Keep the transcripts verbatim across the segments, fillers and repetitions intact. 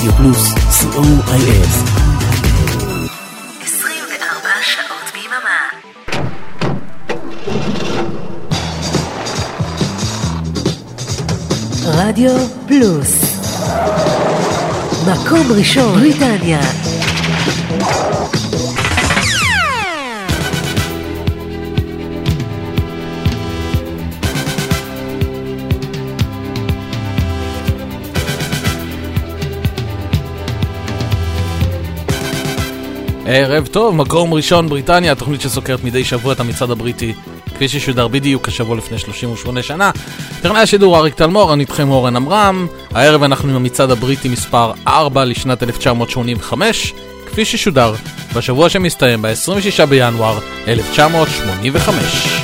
רדיו פלוס, סי או איי אס. עשרים וארבע שעות ביממה. רדיו פלוס, מקום ראשון בריטניה. ערב טוב, מקום ראשון בריטניה, התוכנית שסוקרת מדי שבוע את המצעד הבריטי כפי ששודר בדיוק השבוע לפני שלושים ושמונה שנה. טכנאי השידור אריק תלמור, אני איתכם אורן אמרם. הערב אנחנו עם המצעד הבריטי מספר ארבע לשנת אלף תשע מאות שמונים וחמש, כפי ששודר בשבוע שמסתיים ב-עשרים ושישה בינואר אלף תשע מאות שמונים וחמש.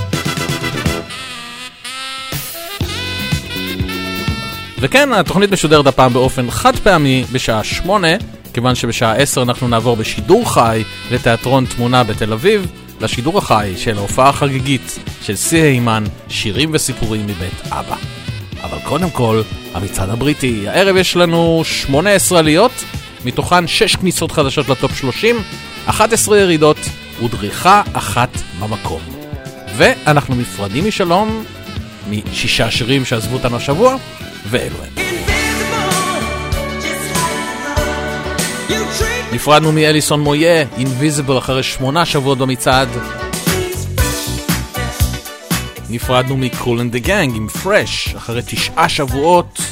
וכן, התוכנית משודרת הפעם באופן חד פעמי בשעה שמונה, כיוון שבשעה עשר אנחנו נעבור בשידור חי לתיאטרון תמונה בתל אביב, לשידור החי של ההופעה החגיגית של סי הימן, שירים וסיפורים מבית אבא. אבל קודם כל, המצעד הבריטי. הערב יש לנו שמונה עשרה עליות, מתוכן שש כניסות חדשות לטופ שלושים, אחת עשרה ירידות ודריכה אחת במקום. ואנחנו נפרדים משלום משישה שירים שעזבו אותנו השבוע, ואלו הם. נפרדנו מאליסון מויה, Invisible, אחרי שמונה שבועות במצעד. נפרדנו מ-Cool and the Gang עם Fresh, אחרי תשעה שבועות.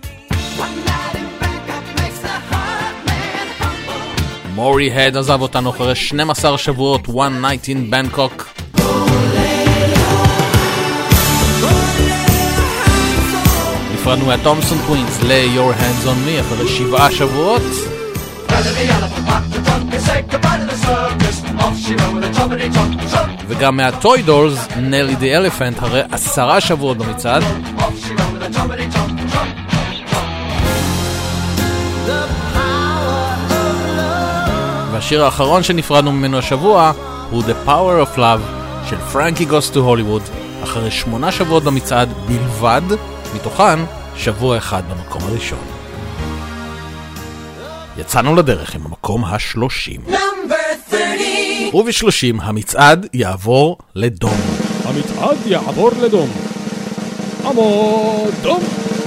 מורי הד עזב אותנו אחרי שנים עשר שבועות, One Night in Bangkok. נפרדנו מהתומסון קווינס ל- Your Hands on Me אחרי שבעה שבועות. וגם מהטוי דולס, נלי די אלפנט, הרי עשרה שבועות במצעד. והשיר האחרון שנפרדנו ממנו השבוע הוא The Power of Love של Frankie Goes to Hollywood, אחרי שמונה שבועות במצעד בלבד, מתוכן שבוע אחד במקום הראשון. יצאנו לדרך עם המקום השלושים. ובשלושים המצעד יעבור לדום. המצעד יעבור לדום. עמוד דום.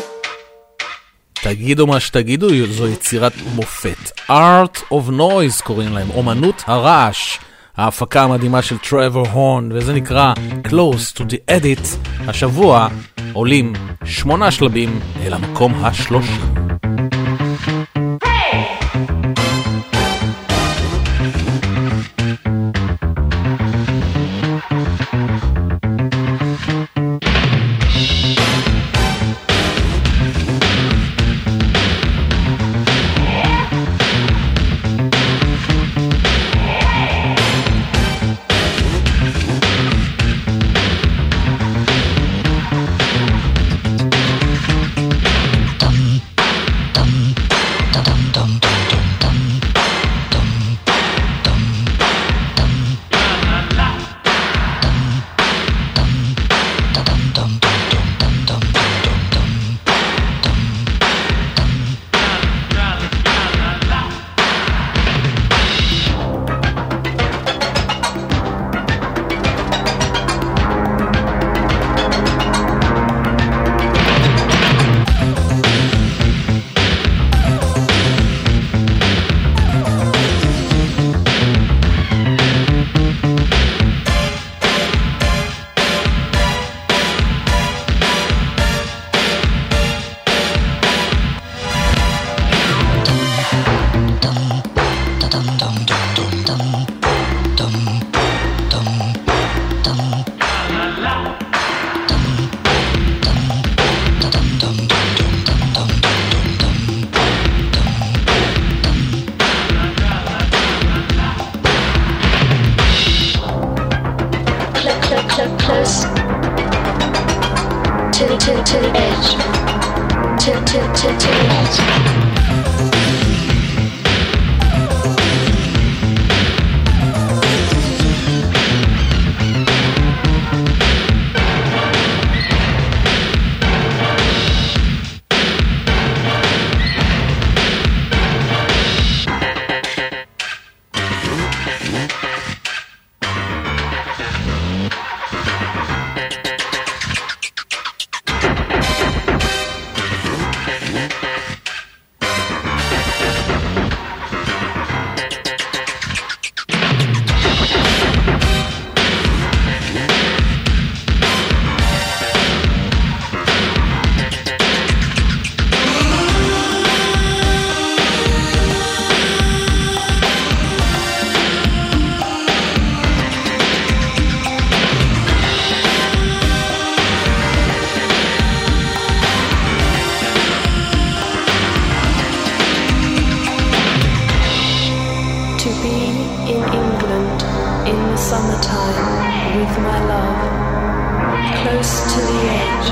תגידו מה שתגידו, זו יצירת מופת. Art of Noise קוראים להם, אומנות הרעש. ההפקה המדהימה של טרוור הורן, וזה נקרא Close to the Edit. השבוע עולים שמונה שלבים אל המקום השלושים. to the edge.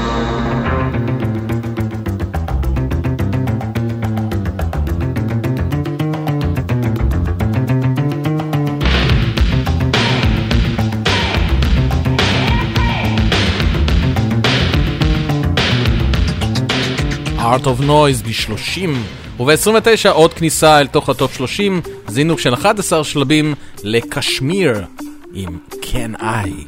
Art of Noise ב-שלושים, וב-עשרים ותשע עוד כניסה אל תוך הטופ שלושים, זינוק של אחד עשר שלבים לקשמיר עם Can I.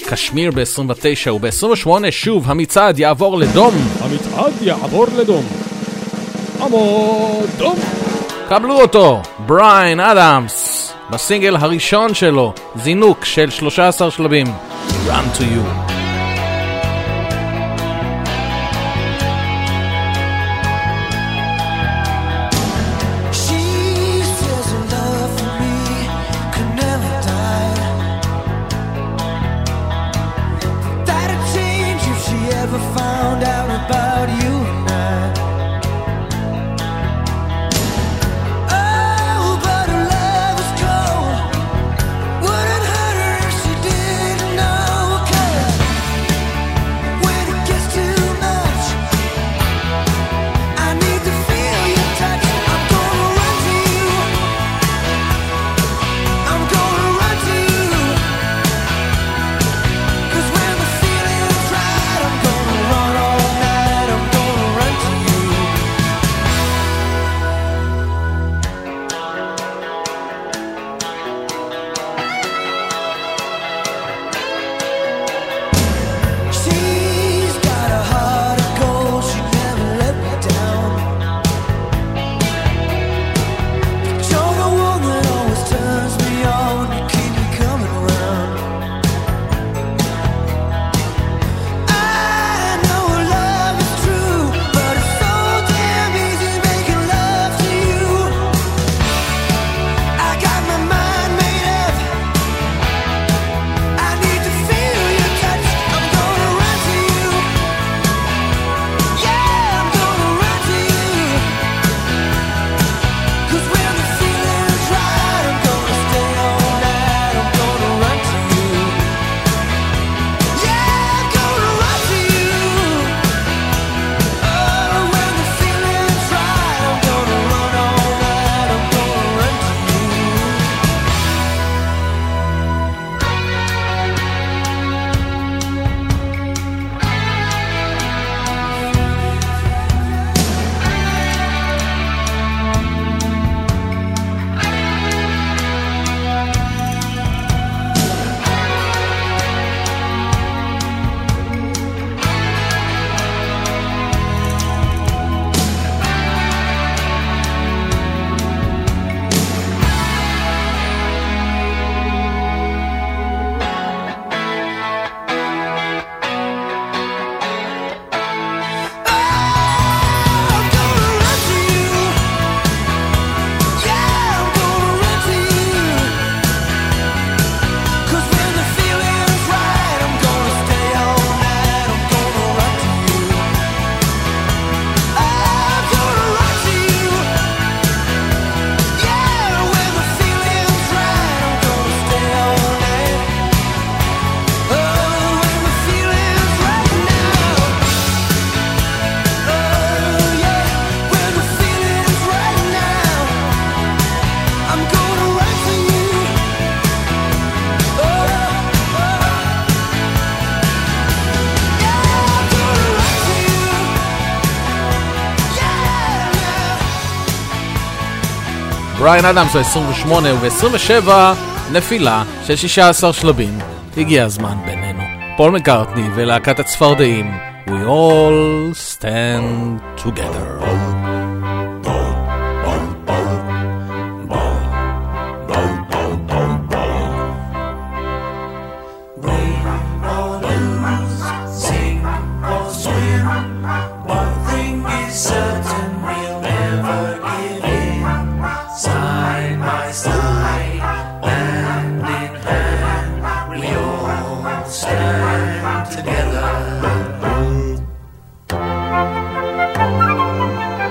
קשמיר ב-עשרים ותשע וב-עשרים ושמונה שוב המצעד יעבור לדום. המצעד יעבור לדום. עמוד דום. קבלו אותו, בריין אדמס, בסינגל הראשון שלו, זינוק של שלושה עשר שלבים, Run to You. בריין אדמס ב-עשרים ושמונה וב-עשרים ושבע נפילה של שישה עשר שלבים. הגיע הזמן בינינו. פול מקארטני ולהקת הצפרדעים We all stand together. Together.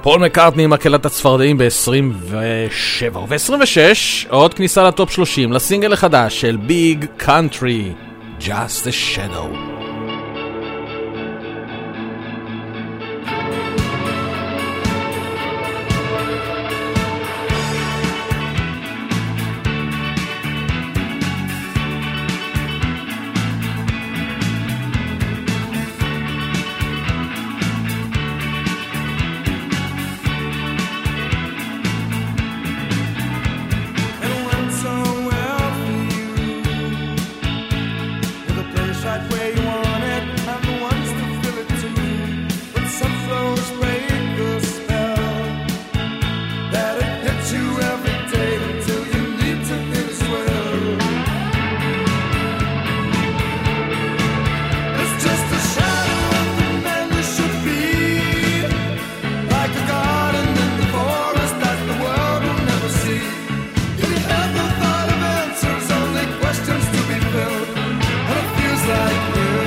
פול מקארטני עם מקהלת הצפרדעים ב-עשרים ושבע וב-עשרים ושש עוד כניסה לטופ שלושים לסינגל החדש של ביג קאנטרי, Just a Shadow. Like you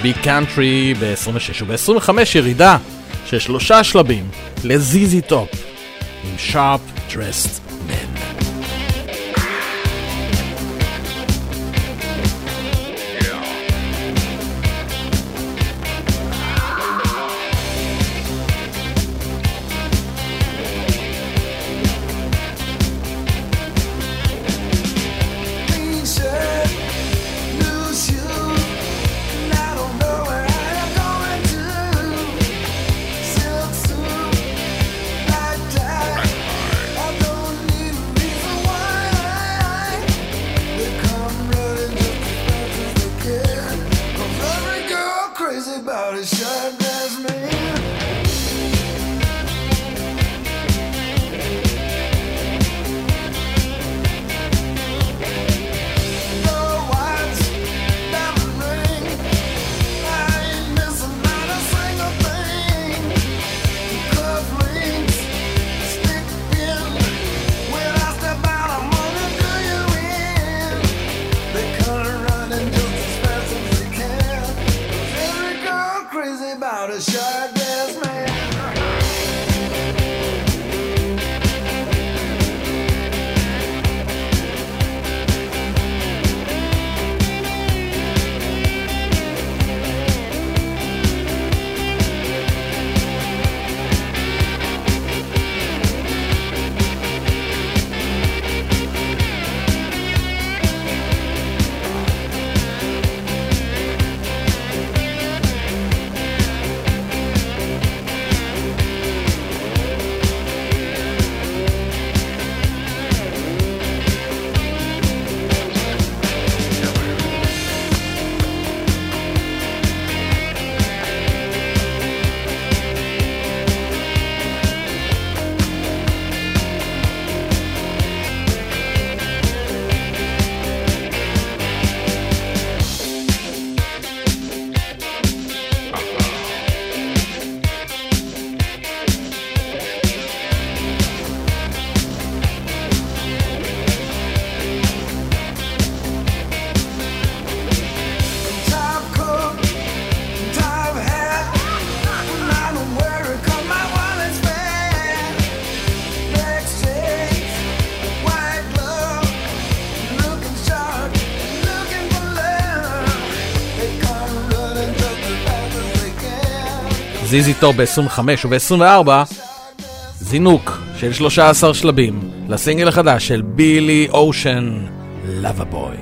ביג קאנטרי ב-עשרים ושש, וב-עשרים וחמש ירידה של שלושה שלבים לזיזי טופ עם Sharp Dressed Men. זיזי טופ ב-עשרים וחמש וב-עשרים וארבע זינוק של שלושה עשר שלבים לסינגל החדש של בילי אושן, Lover Boy.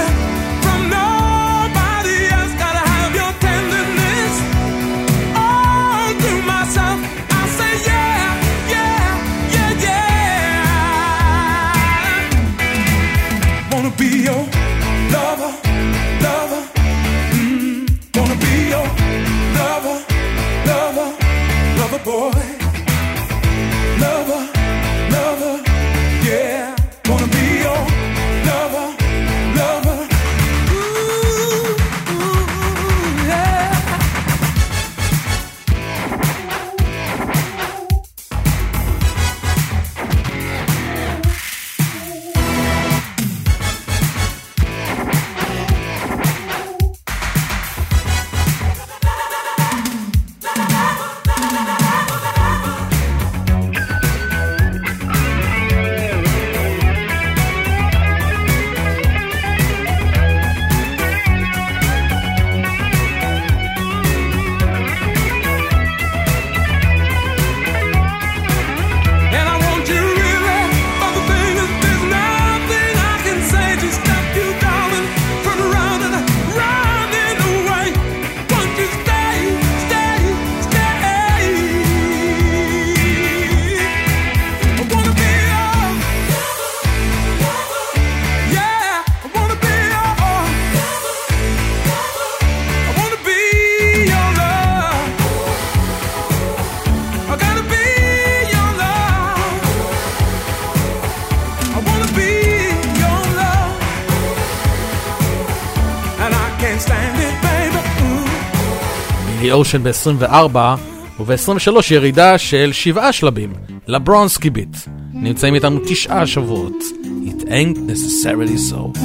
Oh lover boy, lover, lover, yeah, wanna be your lover, lover, ooh, ooh, yeah. אושן ב-עשרים וארבע וב-עשרים ושלוש ירידה של שבעה שלבים לברונסקי ביט. נמצאים איתנו תשעה שבועות. It ain't necessarily so.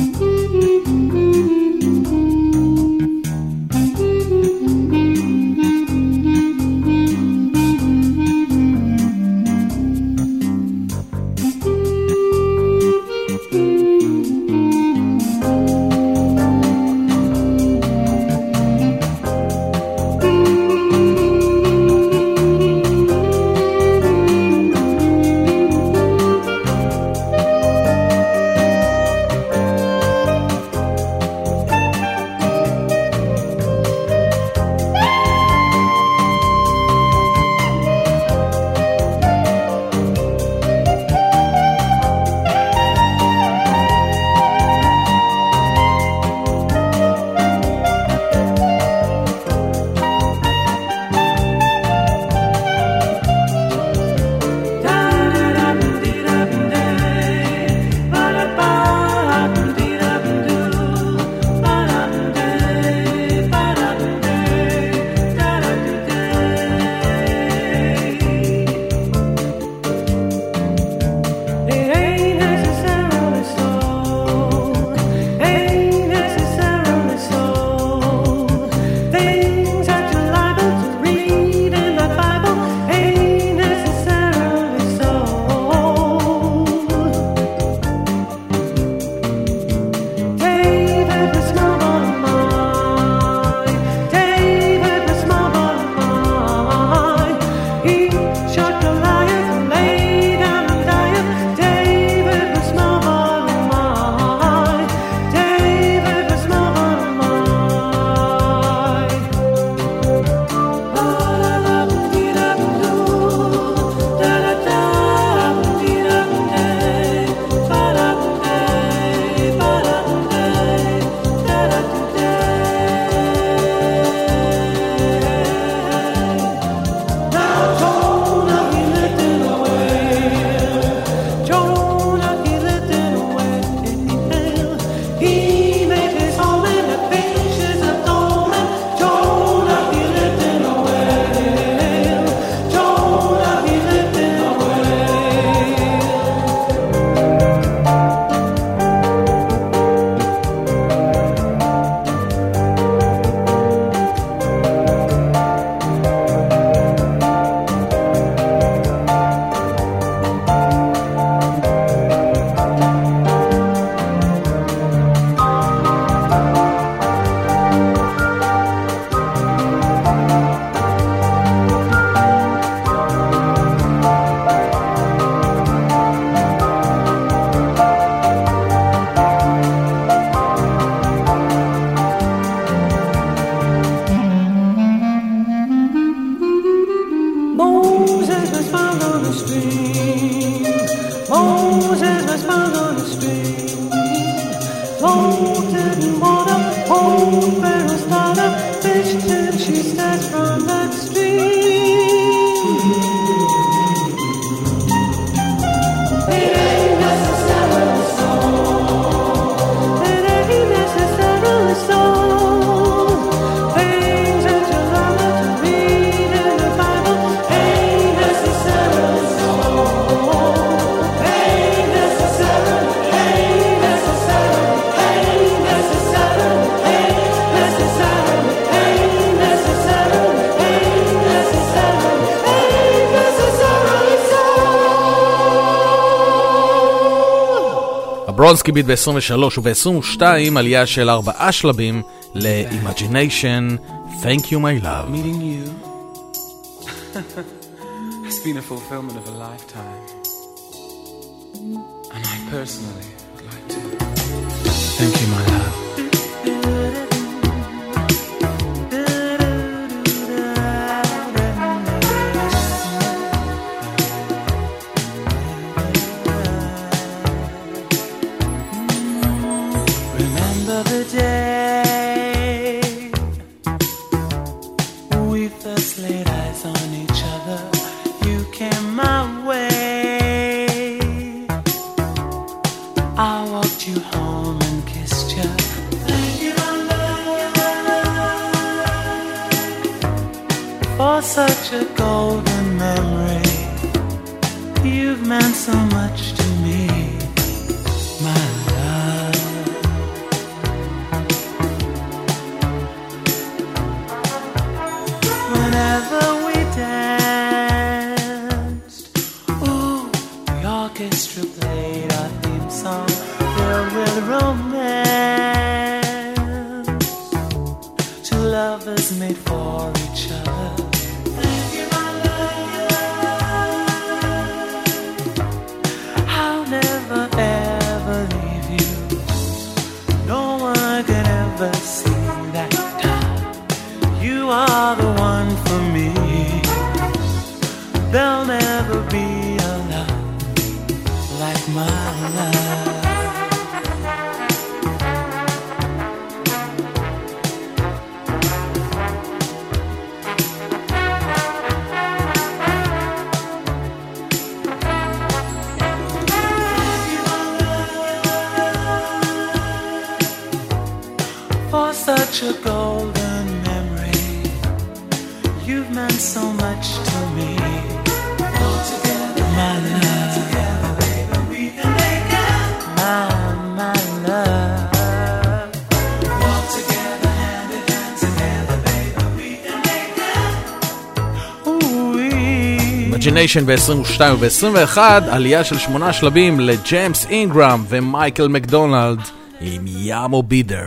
She stands from that street. ברונסקי ביט ב-עשרים ושלוש וב-עשרים ושתיים עלייה של ארבעה שלבים ל-Imagination, Thank You My Love. Meeting you has been a fulfillment of a lifetime. And I personally would like to thank you, my love. Remember the day we first laid eyes on each other. You came my way. I walked you home and kissed you. Thank you, my love, for such a golden memory. You've meant so much to me, my love. Whenever we danced, ooh, the orchestra played our theme song filled with romance. Two lovers made for each other. Thank you, my love. I'll never ever leave you. No one can ever see that time. You are the one for me. There'll never be a love like my love. For such a golden memory, you've meant so much to me. All together, my love. Together, baby, we can make it. My, my love. Walk together, hand in hand, together, baby, we can make it. Ooh-wee. Imagination ב-עשרים ושתיים וב-עשרים ואחת עלייה של שמונה שלבים לג'יימס אינגרם ומייקל מקדונלד עם יאמו בידר.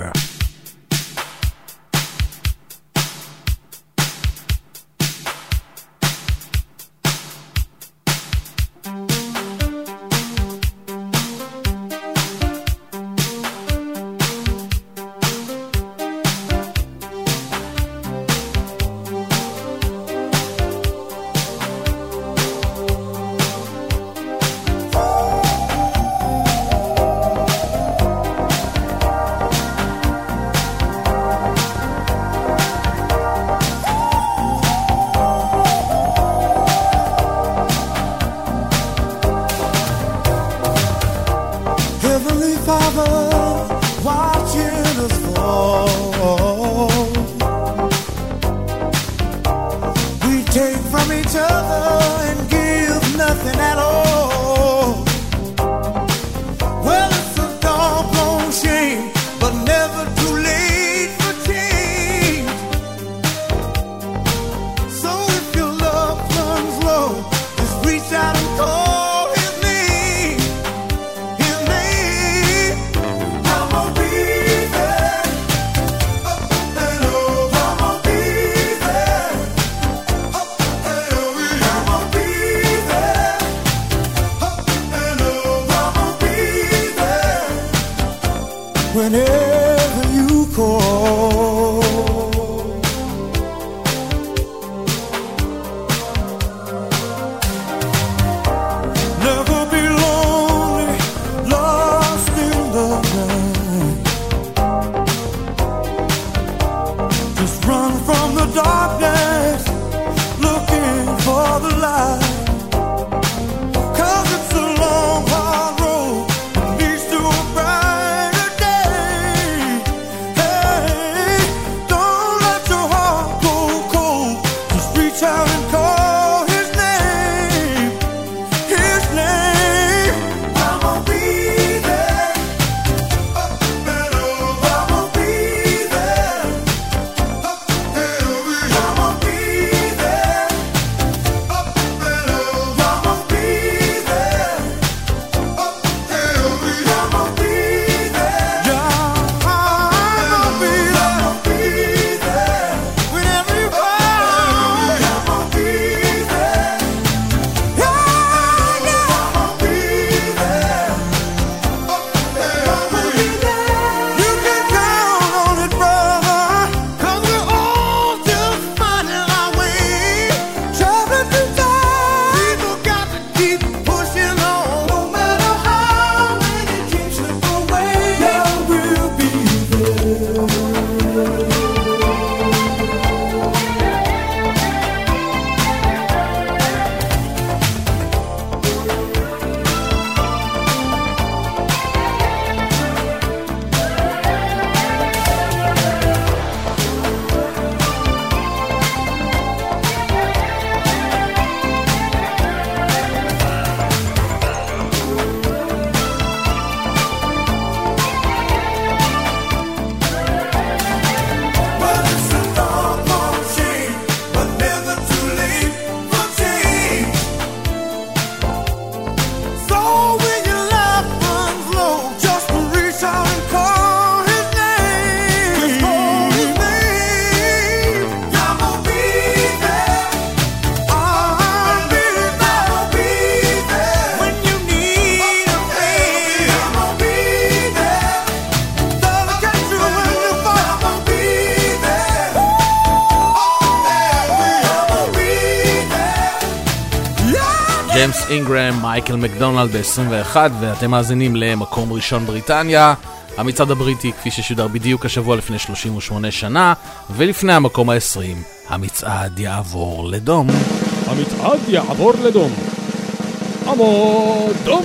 ג'יימס אינגרם, מייקל מקדונלד ב-עשרים ואחת, ואתם מאזינים למקום ראשון בריטניה. המצעד הבריטי כפי ששודר בדיוק השבוע לפני שלושים ושמונה שנה, ולפני המקום ה-עשרים המצעד יעבור לדום. המצעד יעבור לדום. עמוד דום.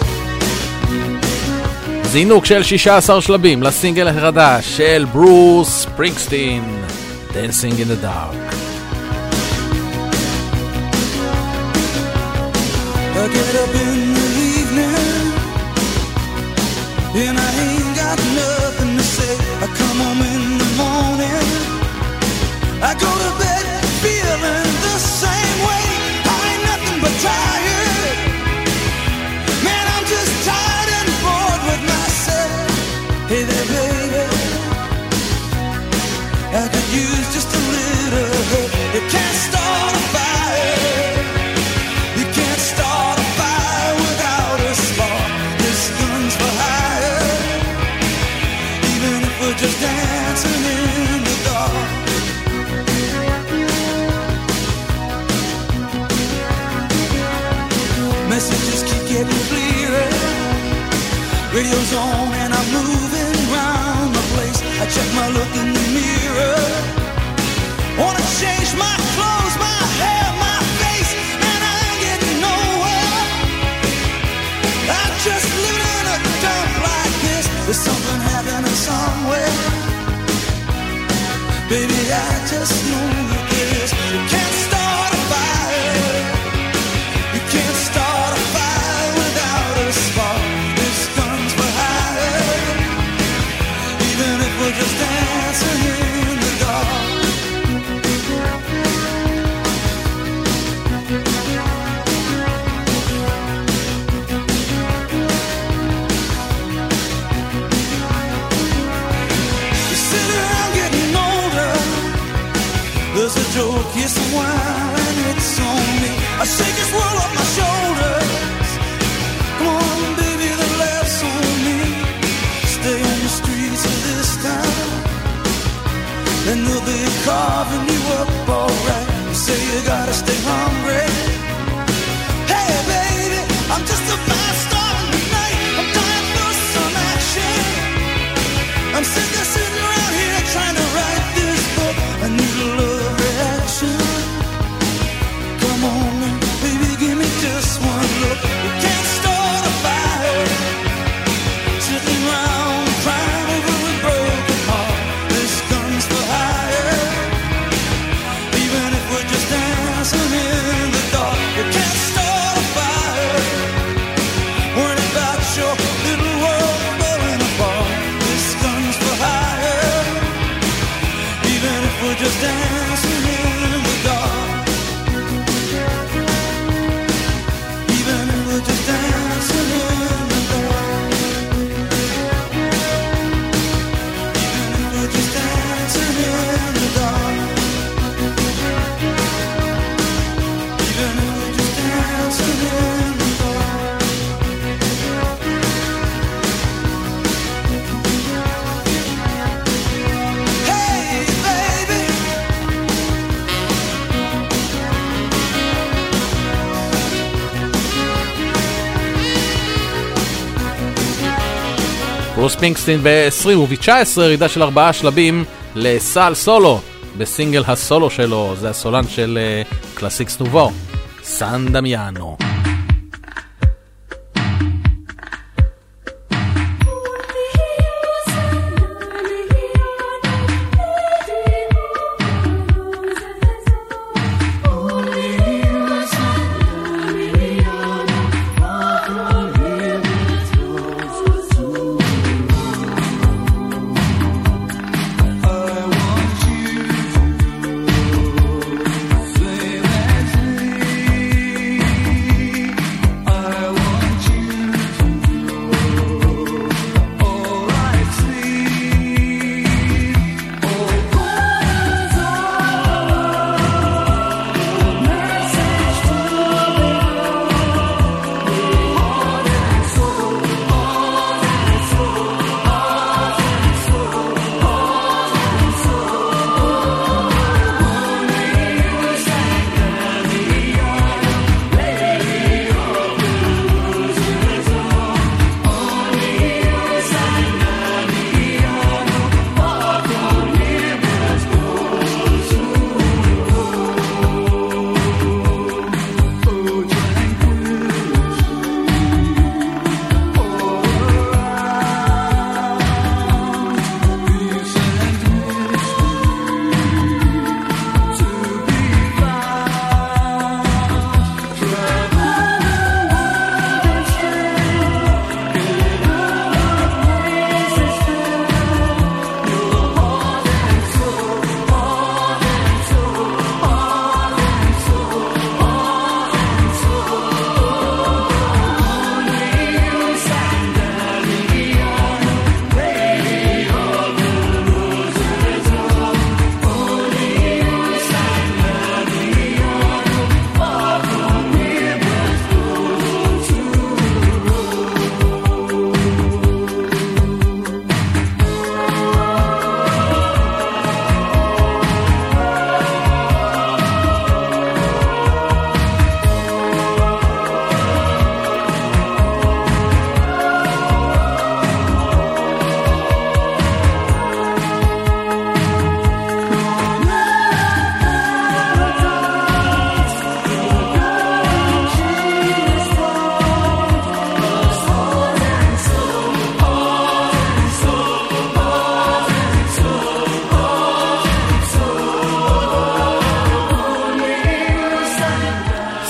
זינוק של שישה עשר שלבים לסינגל החדש של ברוס ספרינגסטין, Dancing in the Dark. I get up in the evening and I ain't got nothing to say. I come home in the morning, I go to bed feeling the same way. I ain't nothing but tired, man, I'm just tired and bored with myself. Hey there baby, I could use just a little help. You can't start a fire, you can't start a fire without a spark. This gun's for hire, even if we're just dancing in the dark. Messages keep getting clearer, radio's on and I'm moving round the place. I check my look in the mirror, wanna change my clothes, my hair, my face, and I ain't getting nowhere. I'm just living in a dump like this. There's something happening somewhere, baby, I just know that this. You can't start a fire, you can't start a fire without a spark. This gun's for hire, even if we're just dancing in the dark. You sit around getting older, there's a joke, yes, a while, and it's on me. I shake this world off my shoulders. Come on, baby, the laugh's on me. Stay on the streets of this town, and they'll be carving you up alright. You say you gotta stay hungry. Hey, baby, I'm just a fast star tonight. I'm dying for some action. I'm sick of sitting around here trying to write this book. I need a love reaction. Come on, baby, give me just one look. You can't start a fire, sitting around crying over a broken heart. This gun's for hire, even if we're just dancing in the dark. You can't start a fire, worrying about your little world falling apart. This gun's for hire, even if we're just dancing in the dark. Even if we're just dancing in the dark. Even if we're just dancing in the dark. Even if we're just dancing in the dark. Hey, baby. ברוס ספרינגסטין ב-עשרים וב-תשע עשרה ירידה של ארבעה שלבים לסל סולו בסינגל הסולו שלו, זה הסולן של uh, קלאסיקס נובו, סן דמיאנו. Say that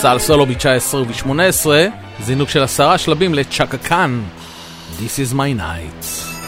סל סולו ב-תשע עשרה וב-שמונה עשרה, זינוק של עשרה שלבים לצ'קה קאן, This is my night.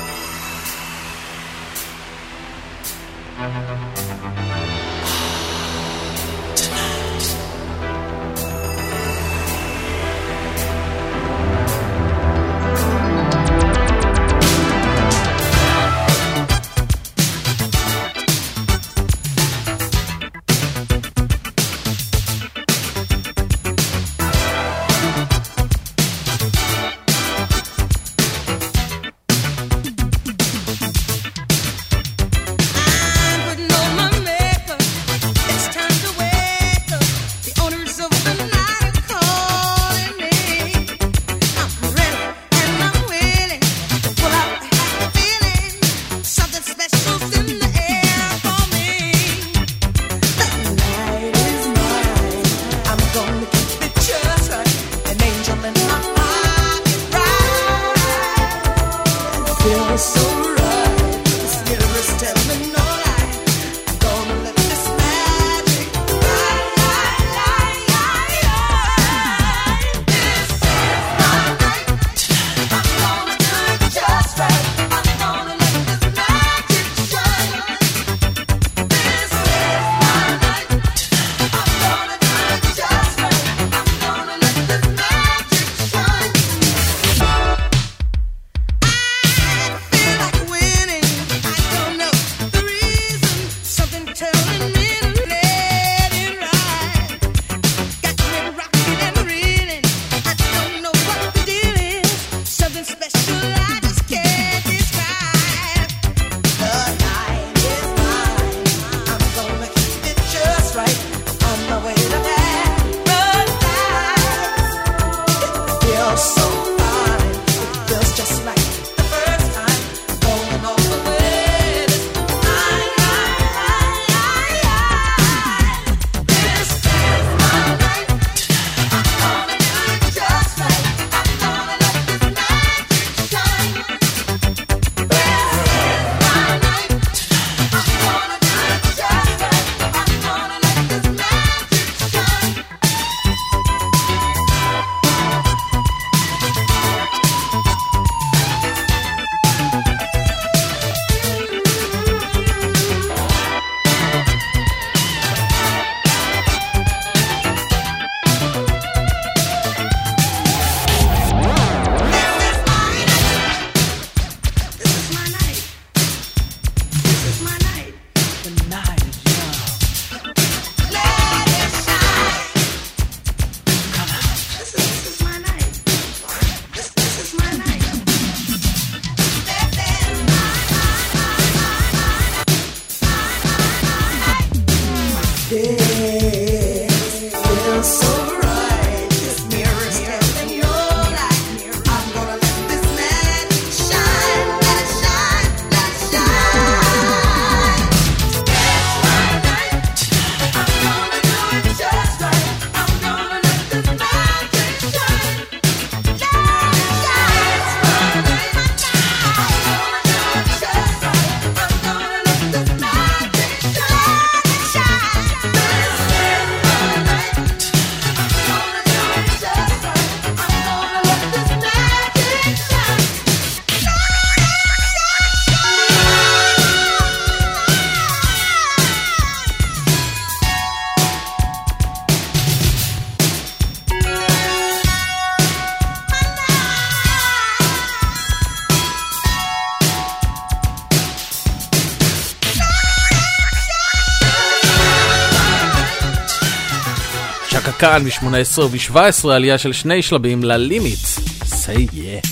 כאן ב-שמונה עשרה וב-שבע עשרה עלייה של שני שלבים ללימיט. Say yeah.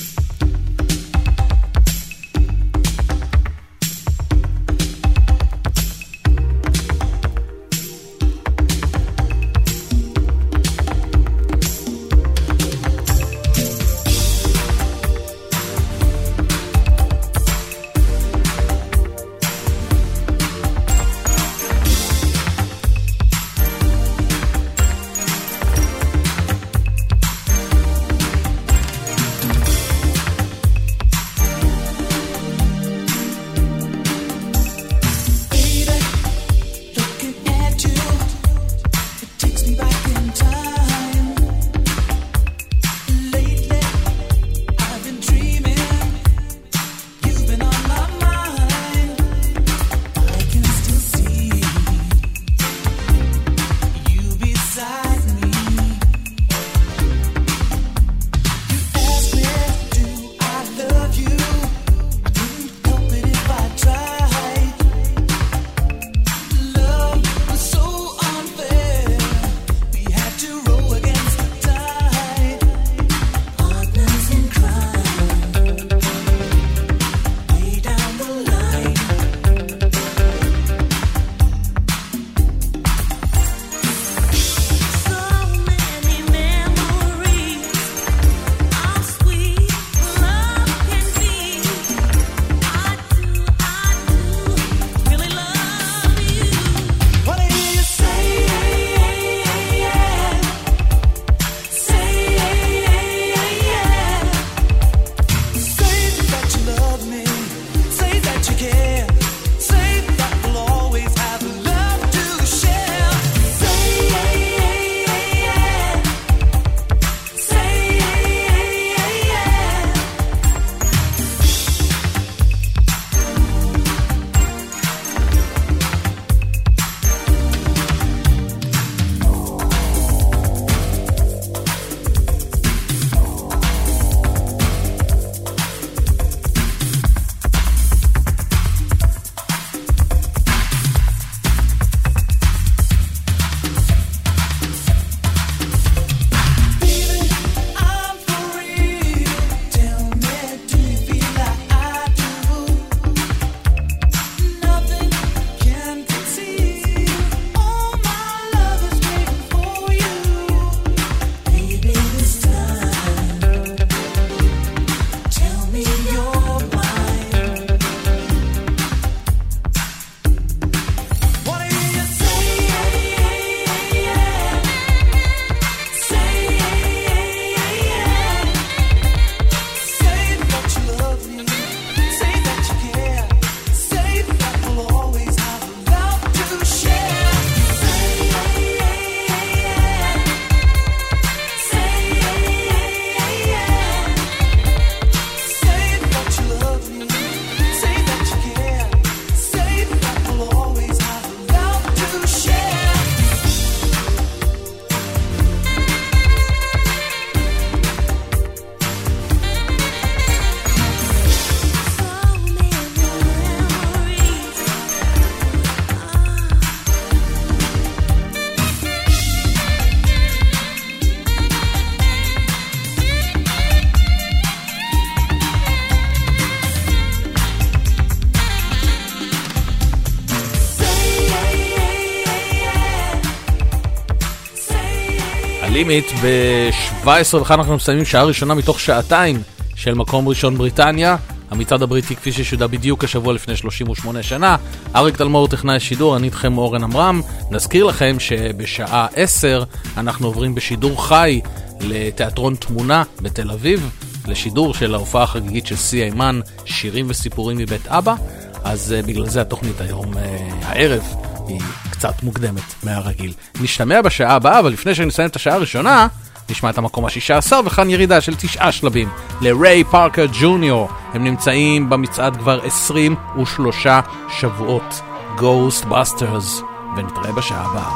לימיט. ב-שבע עשרה ואחת אנחנו מסיימים שעה ראשונה מתוך שעתיים של מקום ראשון בריטניה. המצעד הבריטי כפי ששודר בדיוק השבוע לפני שלושים ושמונה שנה. אריק תלמור טכנאי השידור, אני איתכם אורן אמרם. נזכיר לכם שבשעה עשר אנחנו עוברים בשידור חי לתיאטרון תמונה בתל אביב, לשידור של ההופעה החגיגית של סי אימן, שירים וסיפורים מבית אבא. אז uh, בגלל זה התוכנית היום, uh, הערב, היא קצת מוקדמת מהרגיל. נשתמע בשעה הבאה, אבל לפני שנסיים את השעה הראשונה, נשמע את המקום ה-שישה עשר, וכאן ירידה של תשעה שלבים לריי פארקר ג'וניור. הם נמצאים במצעד כבר עשרים ושלושה שבועות. Ghostbusters. ונתראה בשעה הבאה.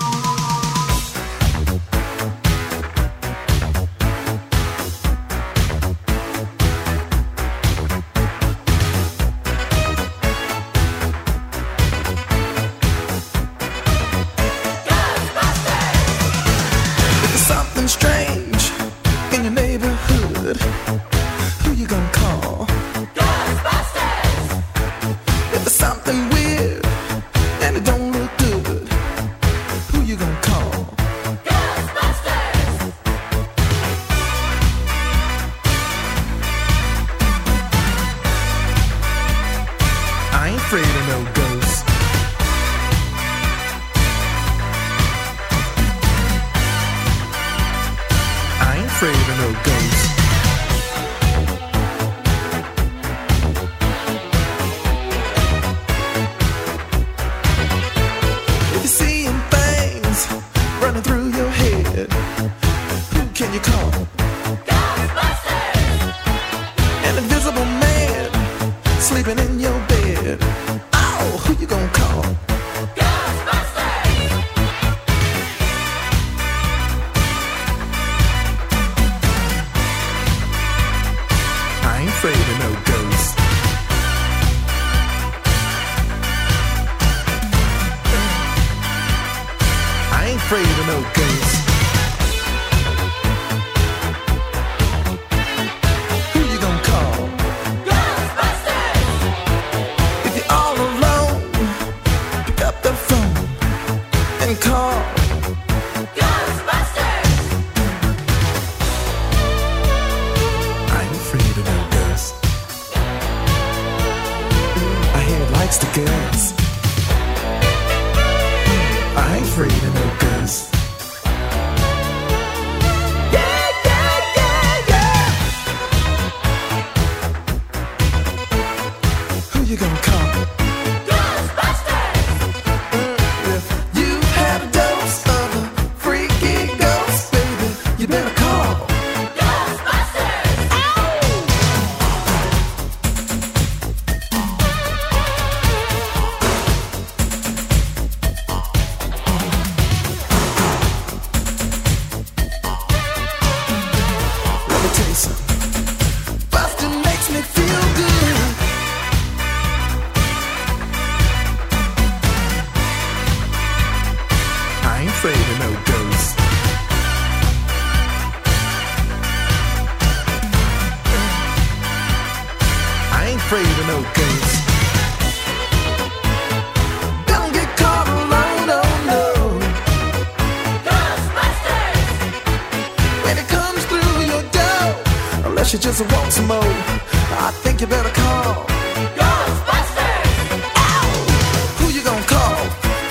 She just wants some more. I think you better call Ghostbusters. Ow! Who you gonna call?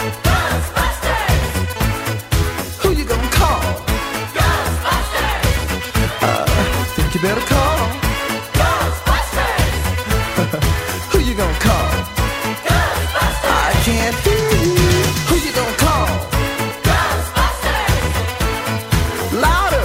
Ghostbusters. Who you gonna call? Ghostbusters. Uh, think you better call Ghostbusters. Who you gonna call? Ghostbusters. I can't hear you. Who you gonna call? Ghostbusters. Louder.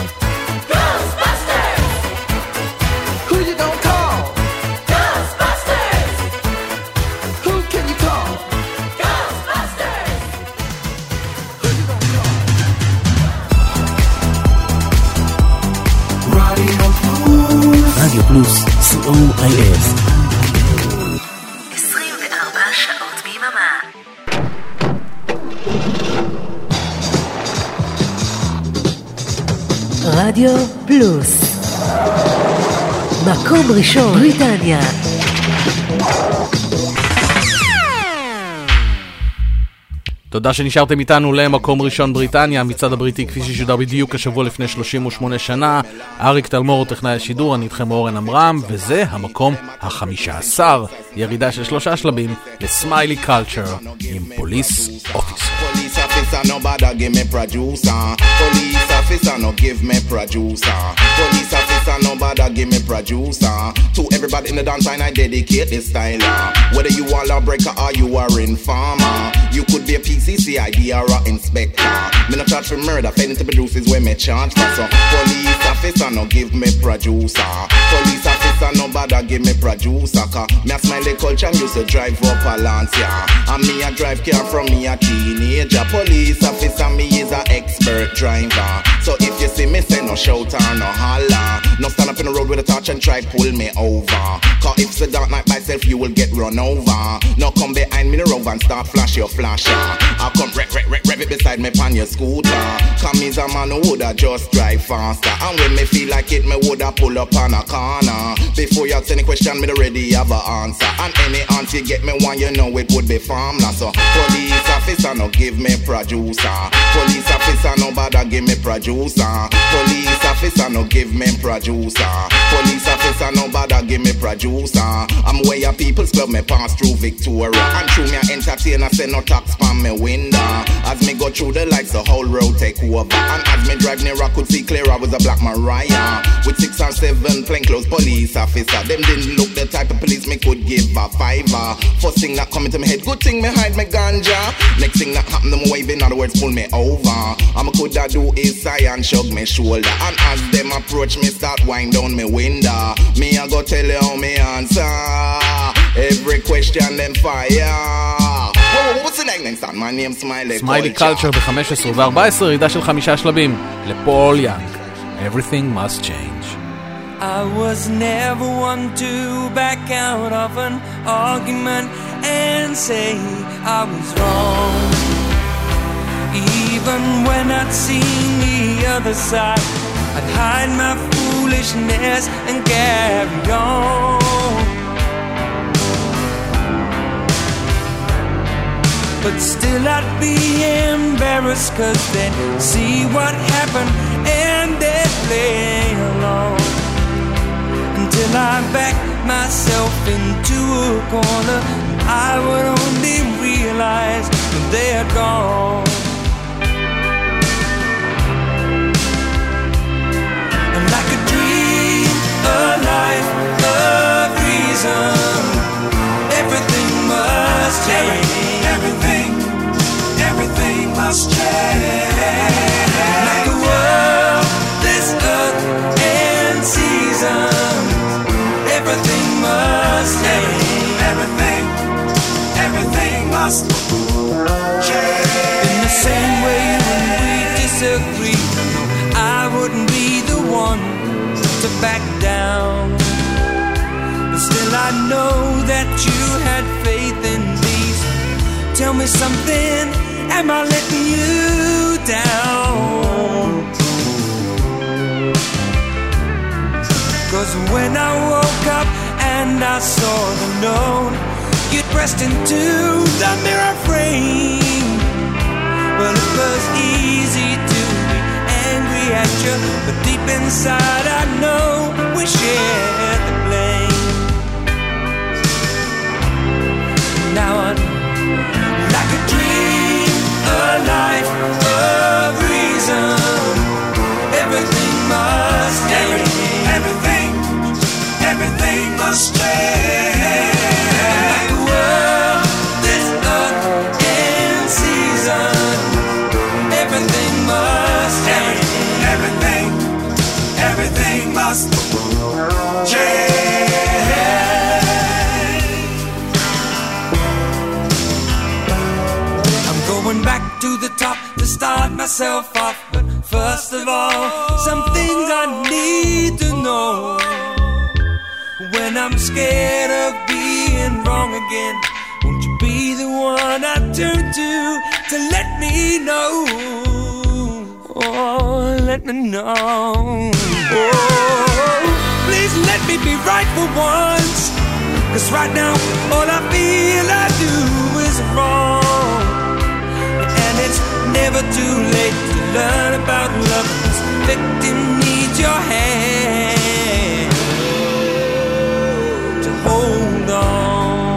רדיו פלוס, סי או איי אס. עשרים וארבע שעות ביממה. רדיו פלוס. מקום ראשון בריטניה. תודה שנשארתם איתנו למקום ראשון בריטניה, המצעד הבריטי כפי ששודר בדיוק השבוע לפני שלושים ושמונה שנה. אריק תלמור טכנאי השידור, אני איתכם אורן אמרם, וזה המקום החמישה עשר, ירידה של שלושה שלבים לסמיילי קלצ'ר עם פוליס אופיסר. Police officer, no bother give me producer. Police officer, no give me producer. Police officer, no bother give me producer. To everybody in the dance line, I dedicate this style. Whether you are a lawbreaker or you are informer, you could be a P C C I D or a inspector. Me no charge for murder, failing to produce is where me charge for. So police officer, no give me producer. Police officer, no bother give me producer. Cause me a smile the culture, and used to drive up a Lancia. And me a drive car from me a teenager. Police officer, me is a expert driver. So if you see me say no shout or no holler, no stand up in the road with a torch and try pull me over. Cause if it's a dark night myself, you will get run over. No come behind me the road and start flash your flasher. I come rev, rev, rev, rev it beside me pan your scooter. Cause me's a man who woulda just drive faster. And when me feel like it, me woulda pull up on a corner. Before you ask any question, me already have a answer. And any answer you get me one, you know it would be farmland. So police officer, no give me producer. Police officer, no bother give me producer. Police officer, no give me producer. Police officer, no bother give me producer. I'm where your people's club me pass through Victoria. And through me a entertainer, say no tax from me window. As me go through the lights, the whole road take over. And as me drive near, I could see clear I was a black Mariah. With six or seven plainclothes police officer. Them didn't look the type of police me could give a fiver. First thing that come into my head, good thing me hide my ganja. Next thing that happen, them wave, in other words, pull me over. I'm a could I do is sigh and shrug me shoulder. And as them approach me, start wind down me window. Me I go tell you how me answer. Every question them fire. Whoa, what's the name next time? My name Smiley Culture. סמיילי קלצ'ר ב-חמש עשרה ו-ארבע עשרה, ירידה של חמישה שלבים לפול יאנג. Everything must change. I was never one to back out of an argument and say I was wrong. Even when I'd seen the other side, I'd hide my foolishness and carry on. But still I'd be embarrassed, cause they'd see what happened and they'd play along. Until I backed myself into a corner, I would only realize that they had gone. And like a dream, a life, a reason, everything must change. Everything, everything must change. Like the world, this earth and season, everything must change. Everything, everything must change. In the same way when we disagree, I wouldn't be the one to back down. But still I know that you had faith in me. Tell me something, am I letting you down? Cause when I woke up and I saw the note, you'd pressed into the mirror frame. Well, it was easy to be angry at you, but deep inside I know we shared the blame. Now I know, like a dream, a life, a reason, everything must change. Everything, everything must change. Like the world, this earth and season, everything must change. Everything, everything must change. Back to the top to start myself off. But first of all, some things I need to know. When I'm scared of being wrong again, won't you be the one I turn to to let me know? Oh, let me know. Oh, please let me be right for once. Cause right now, all I feel I do is wrong. Never too late to learn about love. This victim needs your hand to hold on.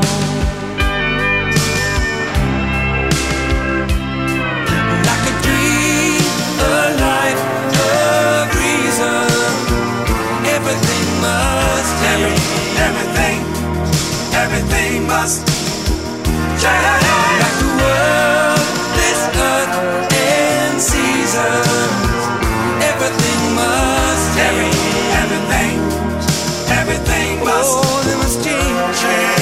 Like a dream, a life of reason. Everything must change. Everything, everything must change. Like the world, this earth and seasons. Everything must change. Everything, everything must. Oh, they must change. change.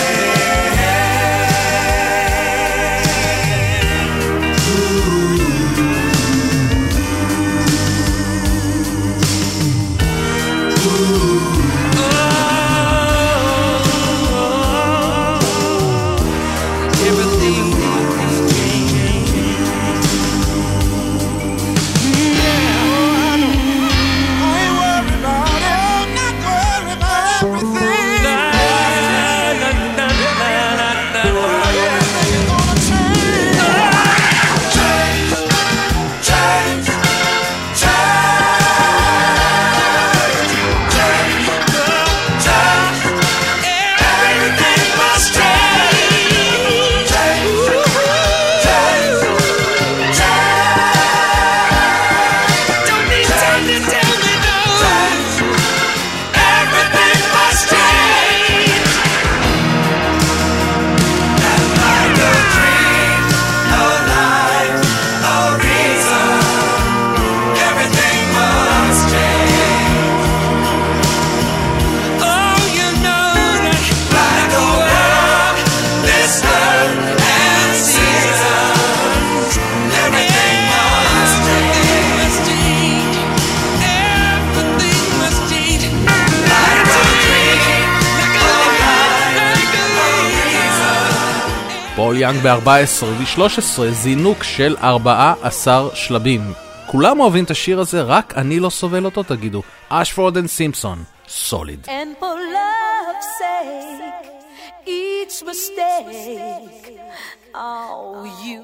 פול יאנג ב-ארבע עשרה ו-שלוש עשרה זינוק של ארבעה עשר שלבים. כולם אוהבים את השיר הזה, רק אני לא סובל אותו, תגידו. אשפורד אנד סימפסון, סוליד. And for love's sake, each mistake, oh, you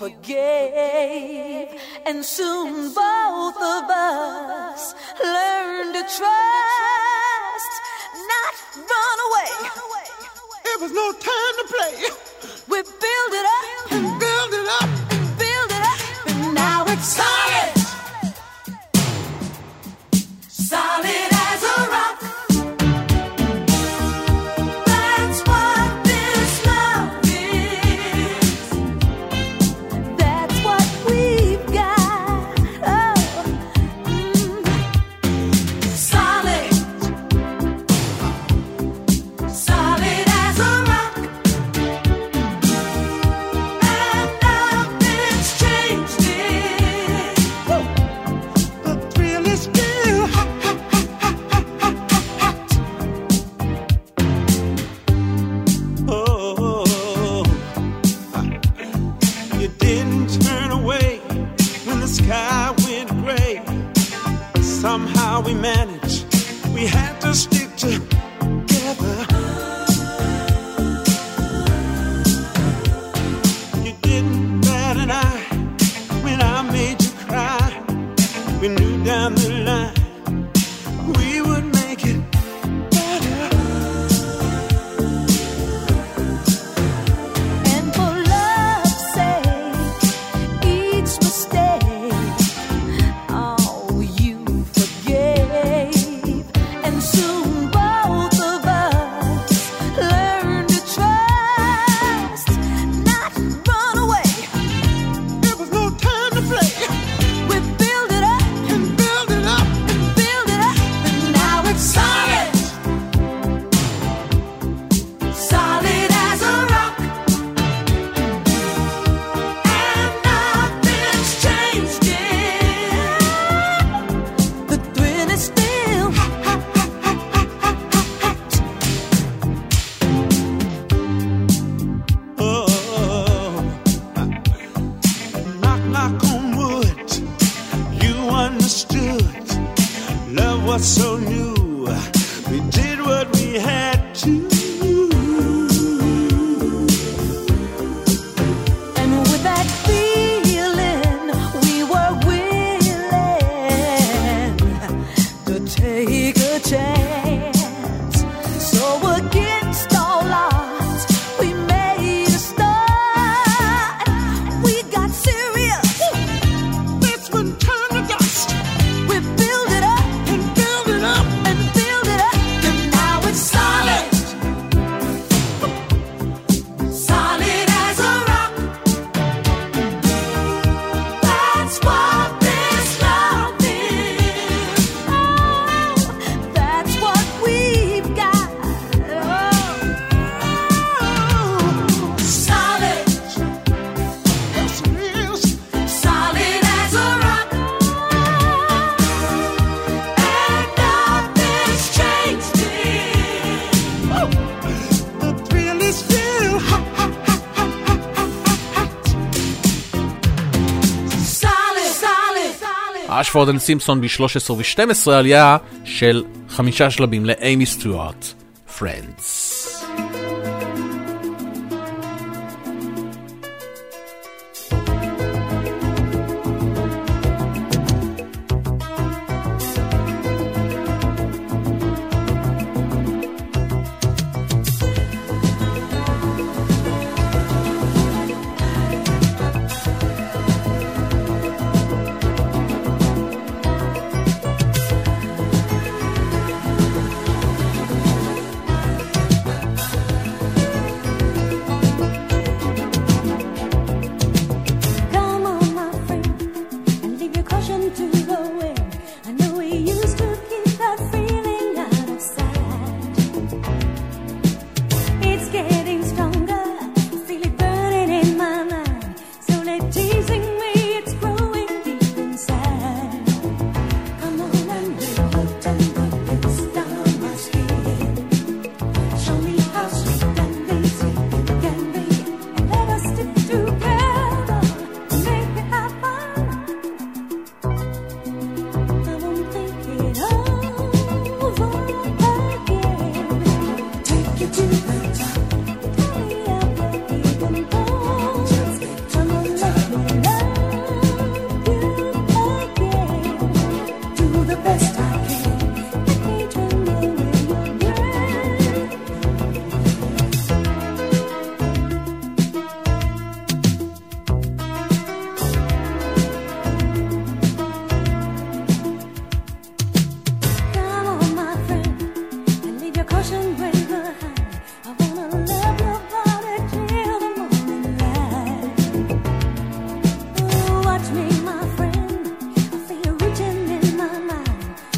forgave. And soon both of us learn to trust, not run away. It was no time to play. We build it up and build it up and build it up, and now it's solid, solid as a rock. That's what this love is. That's what we've got. Oh, mm. Solid, solid as a rock. Somehow we managed, we had to stick together. You didn't bat an eye when I made you cry. We knew down the line we would make it better. And for love's sake, each mistake, oh, you forgave. And soon both of us learn to trust, not run away. There was no time to play. We build it up and build it up and build it up, and now it's solid, solid as a rock. And nothing's changed it. The thrill is still Oh, knock, knock on wood. You understood. Love was so new. We did what we had to. and with that feeling take a chance. So against all odds, we made a start. We got serious. This one turned to dust. We build it up and build it up and build it up, and now it's solid. Solid as a rock. That's what this love is. Oh, that's what we've got. Oh, solid. Yes, it is. Solid as a rock. And nothing's changed it. Oh, the thrill is still hot, hot, hot, hot, hot, hot, hot. Solid, solid, solid. אשפורד אנד סימפסון ב-שלוש עשרה ו-שתים עשרה עלייה של חמישה שלבים לאימי סטיוארט, Friends. Come on, my friend, and leave your caution to the wind. I know we used to keep that feeling out of sight. It's getting stronger, I feel it burning in my mind. Slowly teasing me, it's growing deep inside. Come on and lay your tender lips down my skin. Show me how sweet and easy it can be, and let us stick together and make it happen. I won't think it over again. Take you to the top, tell me how we're even born. Come on, let me love you again. Do the best I can, let me turn away your breath. Come on, my friend, and leave your caution way behind. I wanna love your body till the morning light. Oh, watch me, my friend, I feel you reaching in my mind.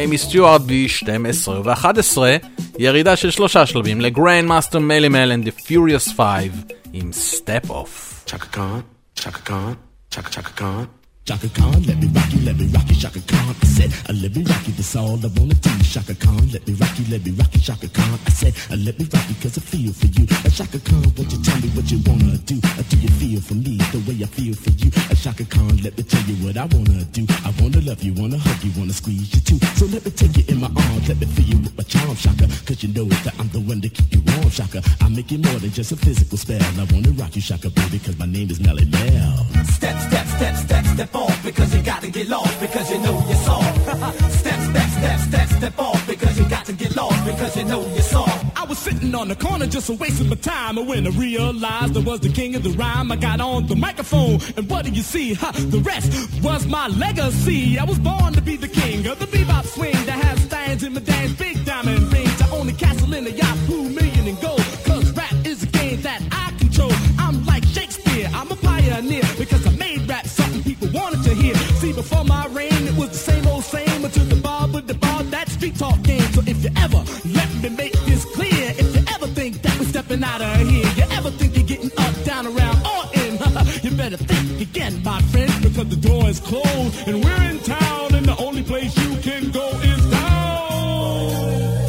אימי סטיוארט ב-שתים עשרה ו-אחת עשרה, ירידה של שלושה שלבים לגרנד מאסטר מלי מל and the Furious Five עם Step Off. Chaka Khan, Chaka Khan, Chaka Chaka Khan. Chaka Khan, let me rock you, let me rock you, Chaka Khan. I said, uh, let me rock you, that's all I wanna do. Chaka Khan, let me rock you, let me rock you, Chaka Khan. I said, uh, let me rock you, cause I feel for you. Uh, Chaka Khan, won't you tell me what you wanna do? Uh, do you feel for me the way I feel for you? Uh, Chaka Khan, let me tell you what I wanna do. I wanna love you, wanna hug you, wanna squeeze you too. So let me take you in my arms, let me feel you with my charm, Chaka. Cause you know that I'm the one to keep you warm, Chaka. I make it more than just a physical spell. I wanna rock you, Chaka, baby, cause my name is Melly Mel. Step, step, step, step, step off, because you gotta get lost, because you know you're soft. Step, step, step, step, step off, because you got to get lost, because you know you're soft. I was sitting on the corner just a wasting my time, and when I realized I was the king of the rhyme, I got on the microphone, and what do you see? Ha, the rest was my legacy. I was born to be the king of the bebop swing that has stands in my dance, big diamond rings. I own a castle in a Yahoo million in gold, cause rap is a game that I control. I'm like Shakespeare, I'm a pioneer, because I made rap something people wanted to hear. See, before my reign, it was the same old same, until the bar with the bar, that street talk game. So if you ever, let me make this clear, if you ever think that we're stepping out of here, you ever think you're getting up, down, around, or in, you better think again, my friend, because the door is closed, and we're in town, and the only place you can go is down.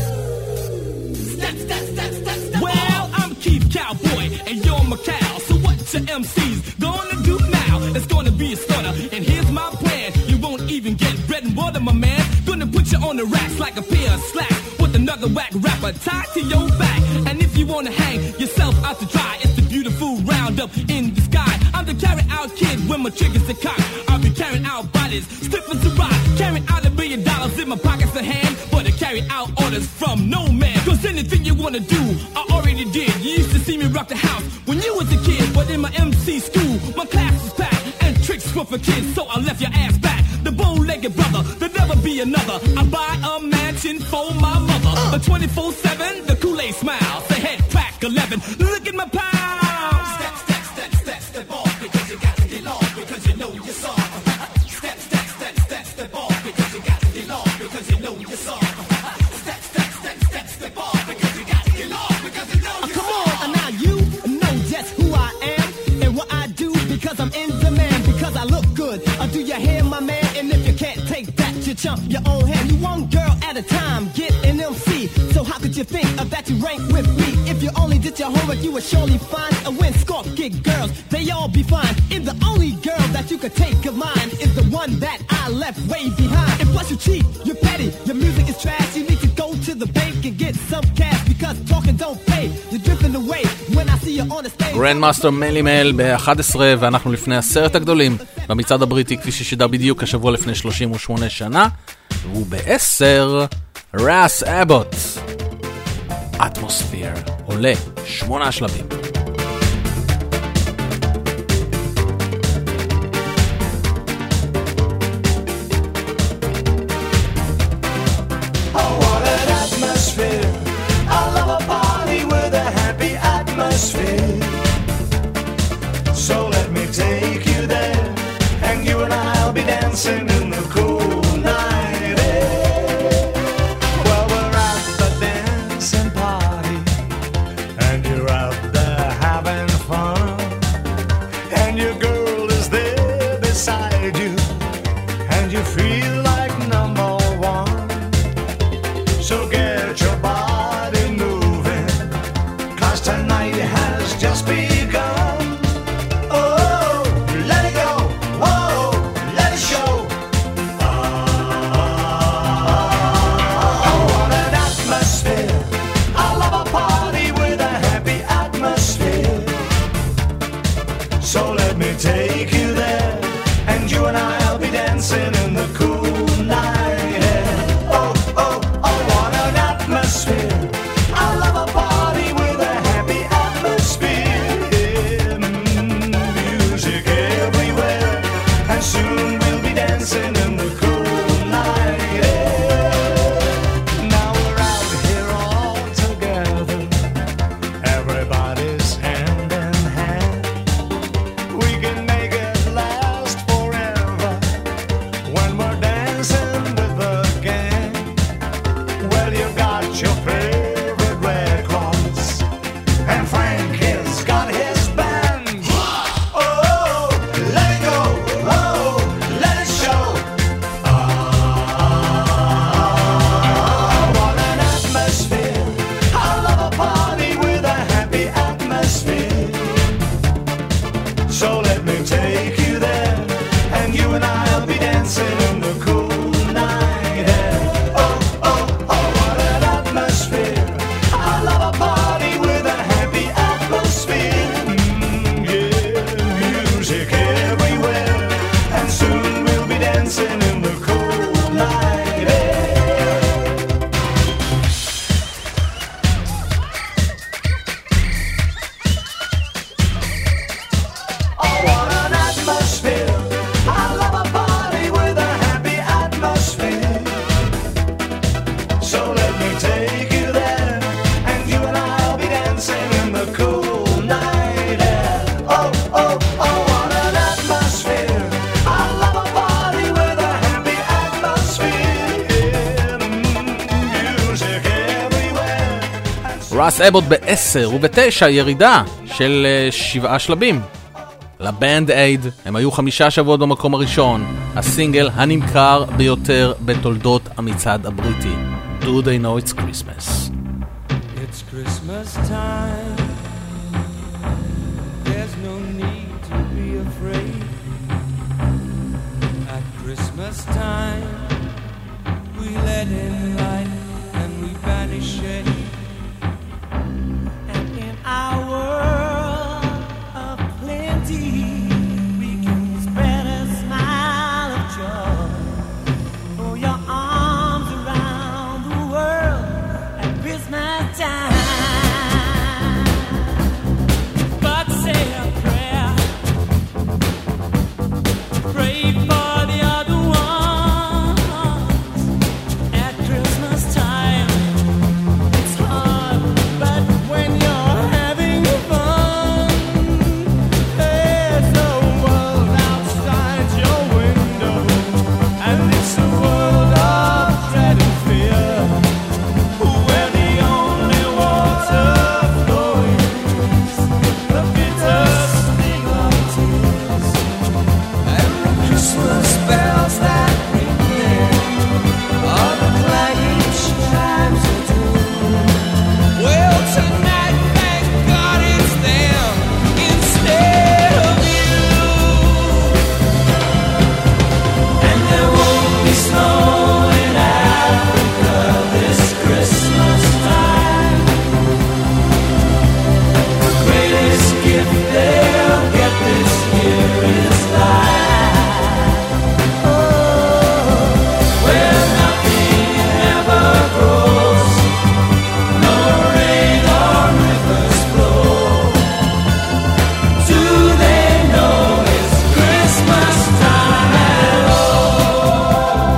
Step, step, step, step, step. Well, I'm Keith Cowboy, and you're my cow, so what your M Cs gonna do now? It's gonna be a stutter, and here's my plan. You won't even get bread and water, my man. Gonna put you on the racks like a pair of slacks, with another whack rapper tied to your back. And if you wanna hang yourself out to dry, it's the beautiful roundup in the sky. I'm the carry out kid when my triggers are cocked. I'll be carrying out bodies, stiff as a rock, carrying out a billion dollars in my pockets of hand, but I carry out orders from no man. Cause anything you wanna do, I already did. You used to see me rock the house when you was a kid, but in my M C school, my class was packed, and tricks were for kids, so I left your ass back. The bow-legged brother, there'll never be another. I buy a mansion for my mother, a twenty-four seven, the Kool-Aid smile, the head crack eleven, look at my pound. Step, step, step, step, step off, because you got to get lost, because you know you're soft. Step, step, step, step, step off, because you got to get lost, because you know you're soft. Step, step, step, step, step off, because you got to get lost, because you know you're soft. Come on, now you know just who I am, and what I do, because I'm in demand, because I look good. Uh, do you hear, my man? And if you can't take that, you chump your own hand. You one girl at a time, get an M C. So how could you think of that you rank with me? If you only did your homework, you would surely find a win score. Get girls, they all be fine. And the only girl that you could take of mine is the one that I left way behind. And plus you cheat, you're petty, your music is trash. You need to go to the bank and get some cash, because talking don't pay. You're drifting away when I see you on the stage. גרנד מאסטר מלי מל ב-אחת עשרה, ואנחנו לפני עשרת הגדולים במצעד הבריטי, כפי ששידר בדיוק השבוע לפני שלושים ושמונה שנה, והוא ב-עשר, ראס אבוט, אטמוספיר, עולה שמונה שלבים. So let me take you there, and you and I'll be dancing in the cool night air. Well, we're at the dancing party, and you're out there having fun, and your girl is there beside you, and you feel like number one. So get your body moving, 'cause tonight has just begun. Take you there, and you and I'll be dancing in the cool night air. Oh, oh, oh, what an atmosphere. I love a party with a happy atmosphere. Music everywhere, and soon we'll be dancing in the cool night air. Now we're out here all together, everybody's hand in hand. We can make it last forever when we're dancing. רס אבוט בעשר ובתשע ירידה של uh, שבעה שלבים. לבנד אייד הם היו חמישה שבועות במקום הראשון, הסינגל הנמכר ביותר בתולדות המצעד הבריטי. Do they know it's Christmas? It's Christmas time. There's no need to be afraid. At Christmas time, we let in light and we banish shade. And in our world of plenty, we can spread a smile of joy. Throw your arms around the world at Christmas time. But say a prayer, pray for the other ones. At Christmas time, it's hard, but when you're having fun, there's a world outside your window, and it's a world of dread and fear, where the only water flowing is the bitter sting of tears, and the Christmas bells that ring there are the clanging chimes of doom. Well, tonight, thank God it's them instead of you. And there won't be snow in Africa this Christmas time. The greatest gift they'll get this year is life. Oh, where nothing ever grows, no rain or rivers flow. Do they know it's Christmas time at all?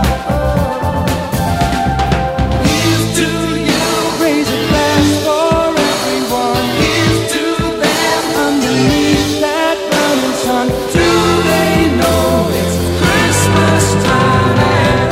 Here's to you, raise a glass for everyone. Here's to them underneath that burning sun. Do they know it's Christmas time at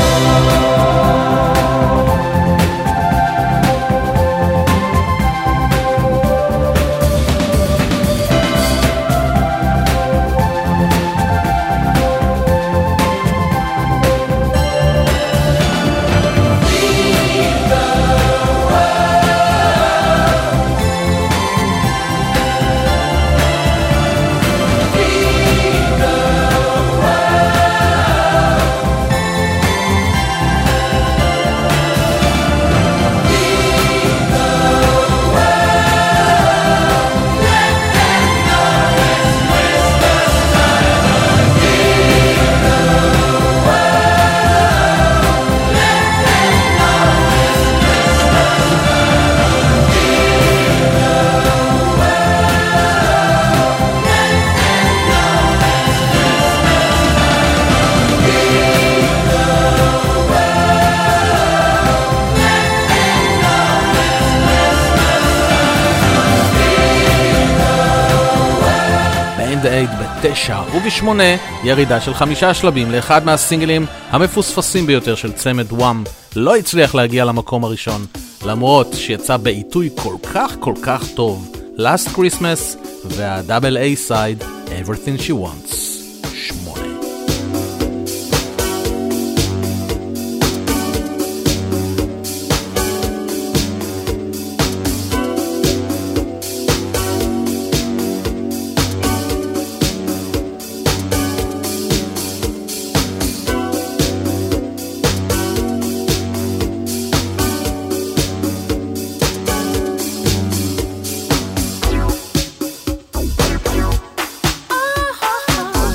בנד אייד בתשע ובשמונה ירידה של חמישה שלבים לאחד מהסינגלים המפוספסים ביותר של צמד וואם. לא הצליח להגיע למקום הראשון למרות שיצא בעיתוי כל כך כל כך טוב, Last Christmas והדאבל איי סייד Everything She Wants. שמונה. Oh,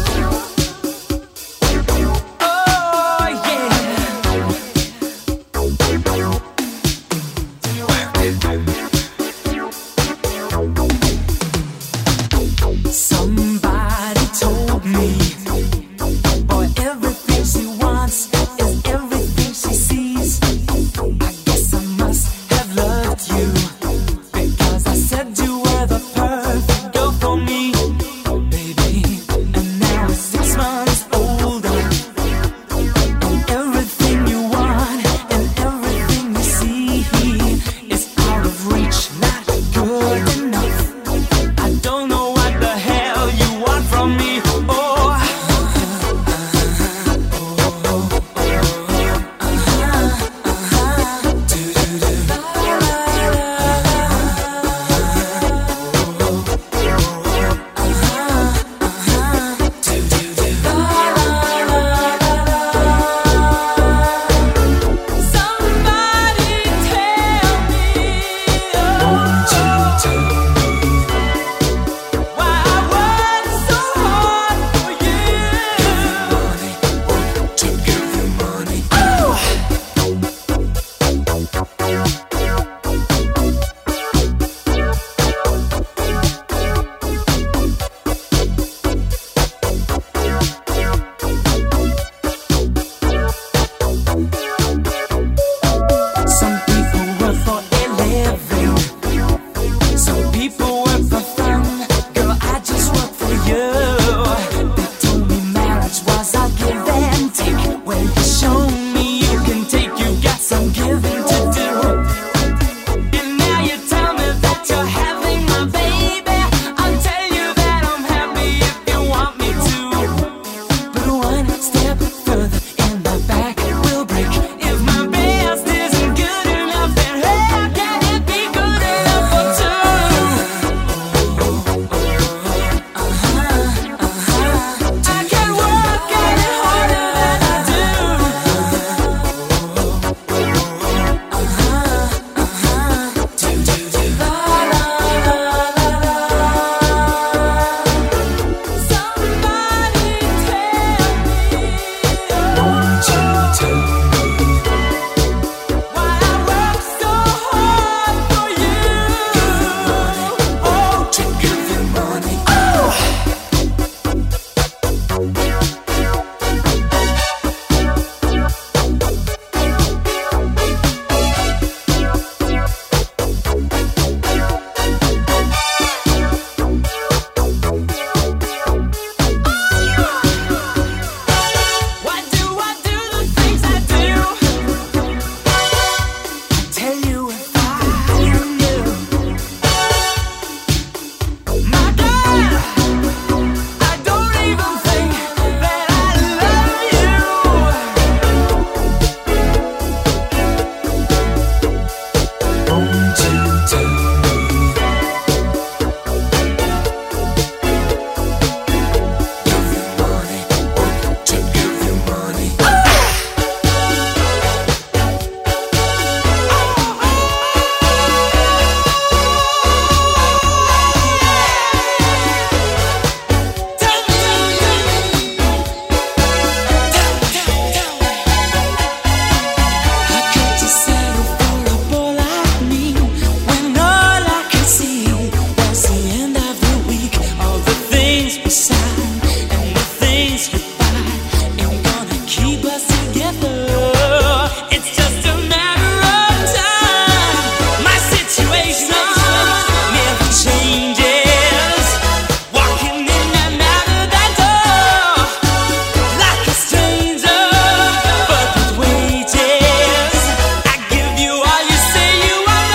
things goodbye ain't gonna keep us together. It's just a matter of time. My situation never changes. Walking in and out of that door like a stranger, but with wages. I give you all you say you want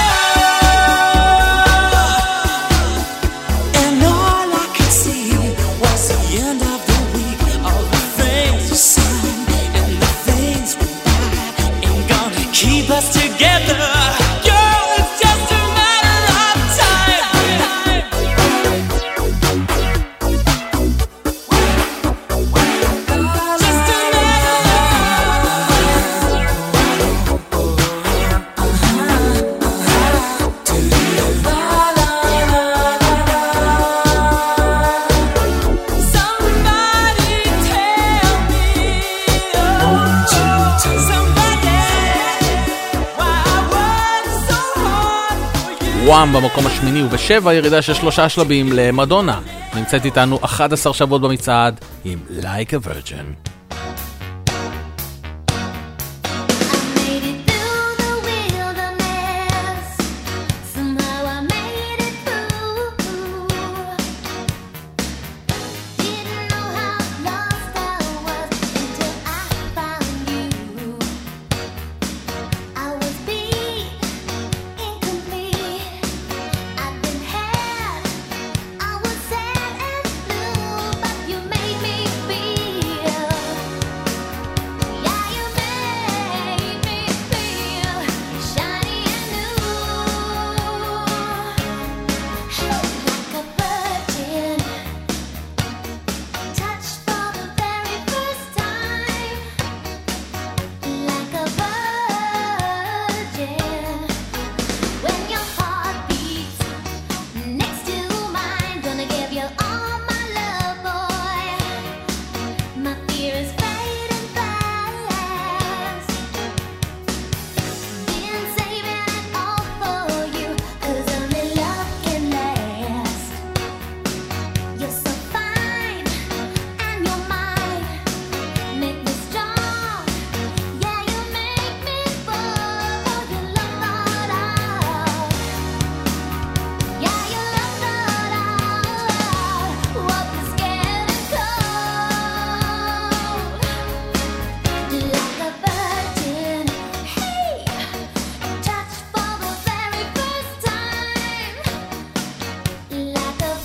more, and all I could see was the end of the week. All the things you signed and the things we buy ain't gonna keep us together. Girl, it's just a matter of time. Just a Somebody tell me, somebody, why I work so hard for you. וואם במקום השמיני ובשבע ירידה של שלושה שלבים למדונה. נמצאת איתנו אחד עשר שבועות במצעד עם Like a Virgin. Made it through the wilderness. Somehow I made it through. Didn't know how lost I was until I found you. I was beat, incomplete. I've been had. I was sad and blue, but you made me feel. Yeah, you made me feel shiny and new. Like a virgin, touched for the very first time. Like a virgin, when your heart beats next to mine, gonna give you all my love, boy. My fear is fading fast. Been saving it all for you, 'cause only love can last. You're so fine, and you're mine. Make me strong, yeah, you make me fall for your love thought out. Yeah, your love thought out. What was scared and cold, like a virgin. Hey, touched for the very first time, like a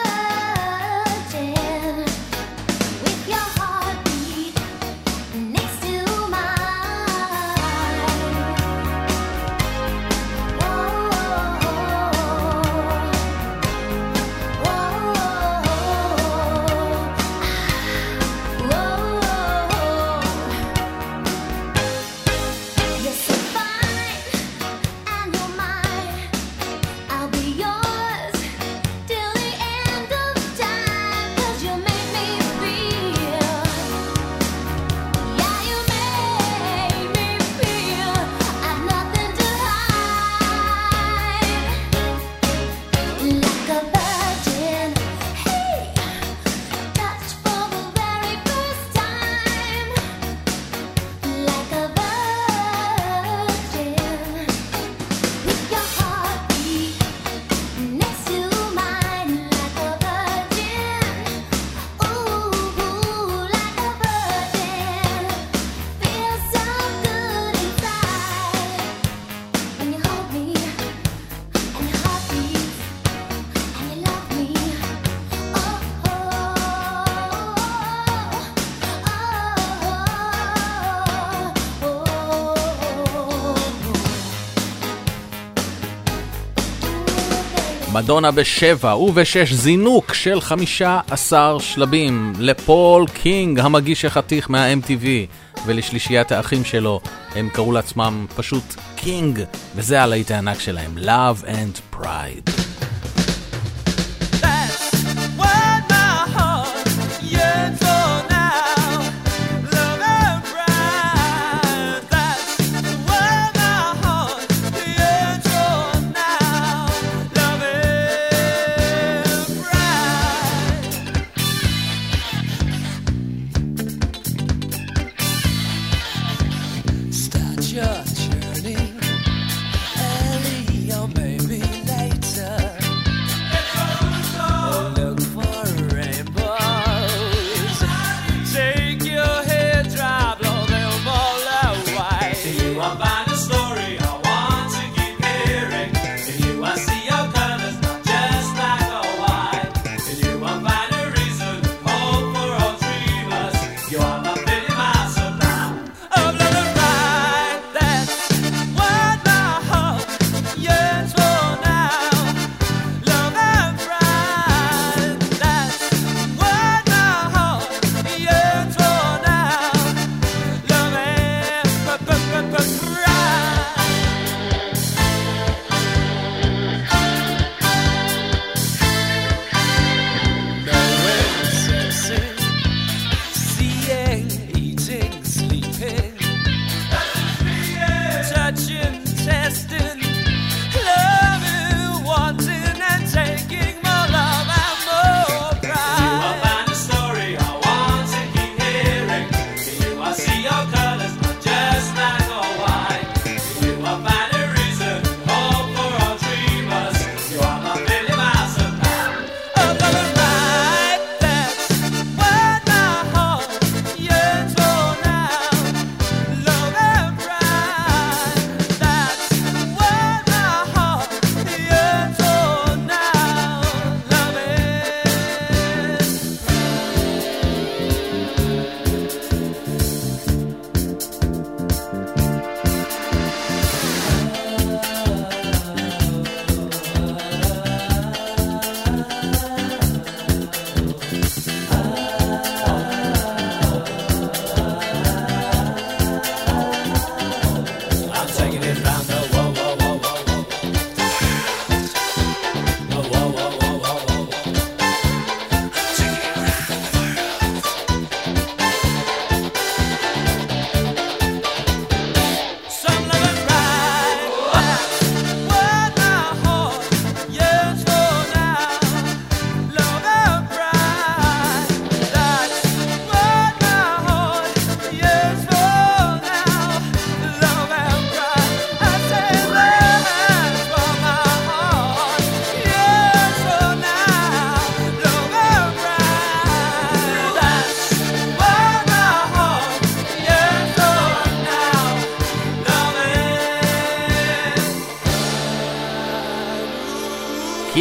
virgin, with your heartbeat next to mine. You're so fine, and you're mine. I'll be yours till the end of time, 'cause you make me feel. Yeah, you make me feel I've nothing to hide. Like a virgin, hey, touched for the very first time. Like a virgin, with your heartbeat next to mine. Like a virgin, ooh, like a virgin. Feels so good inside when you hold me, and your heart beats, and you love me. Oh, oh, מדונה בשבע ובשש זינוק של חמישה עשר שלבים לפול קינג, המגיש החתיך מה-אם טי וי, ולשלישיית האחים שלו. הם קראו לעצמם פשוט קינג, וזה הלהיט הענק שלהם, Love and Pride. That's what my heart yearns for now. Love and pride. That's what my heart yearns for now. Love and pride.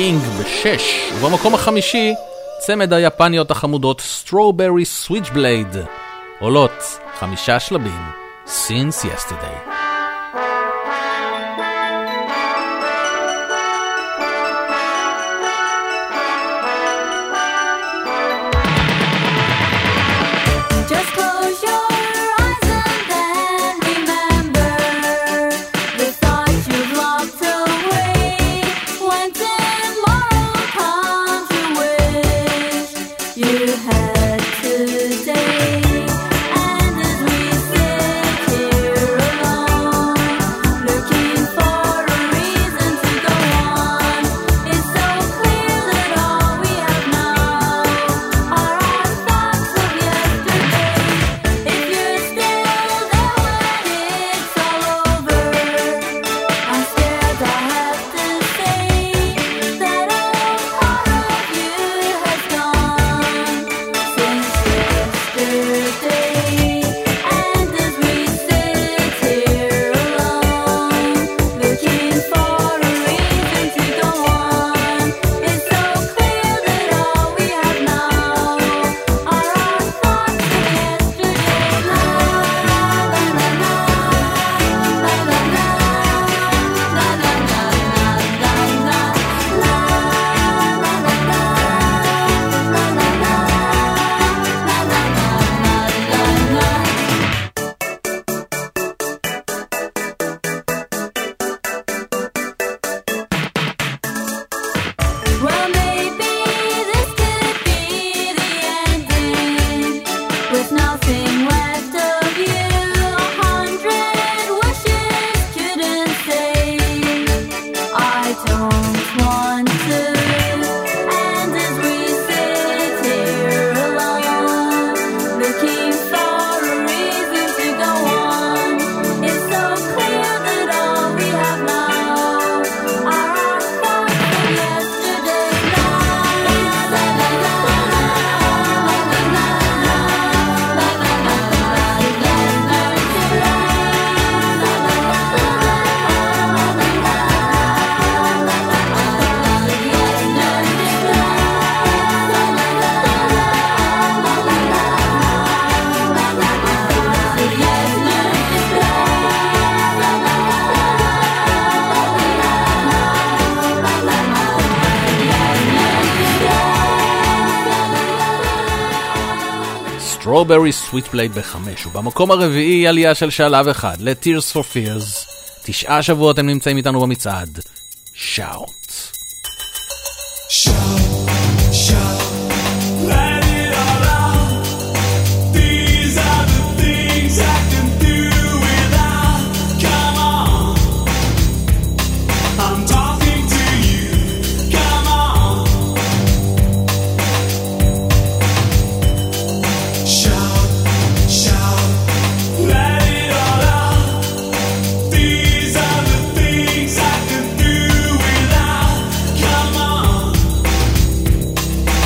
קינג בשש. ובמקום החמישי, צמד היפניות החמודות Strawberry Switchblade, עולות חמישה שלבים, Since Yesterday. Strawberry Switchblade בחמש, ובמקום הרביעי עלייה של שלב אחד ל-Tears for Fears. תשעה שבועות הם נמצאים איתנו במצעד. Shout. Shout, shout, let it all out. These are the things I can do without. Come on, I'm talking to you. Come on. Shout, shout, let it all out. These are the things I can do without. Come on.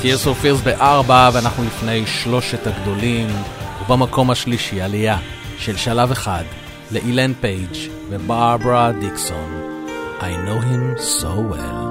Tears of Fears בארבע, ואנחנו לפני שלושת הגדולים, ובמקום השלישי עלייה של שלב אחד לאילן פייג' וברברה דיקסון, I know him so well.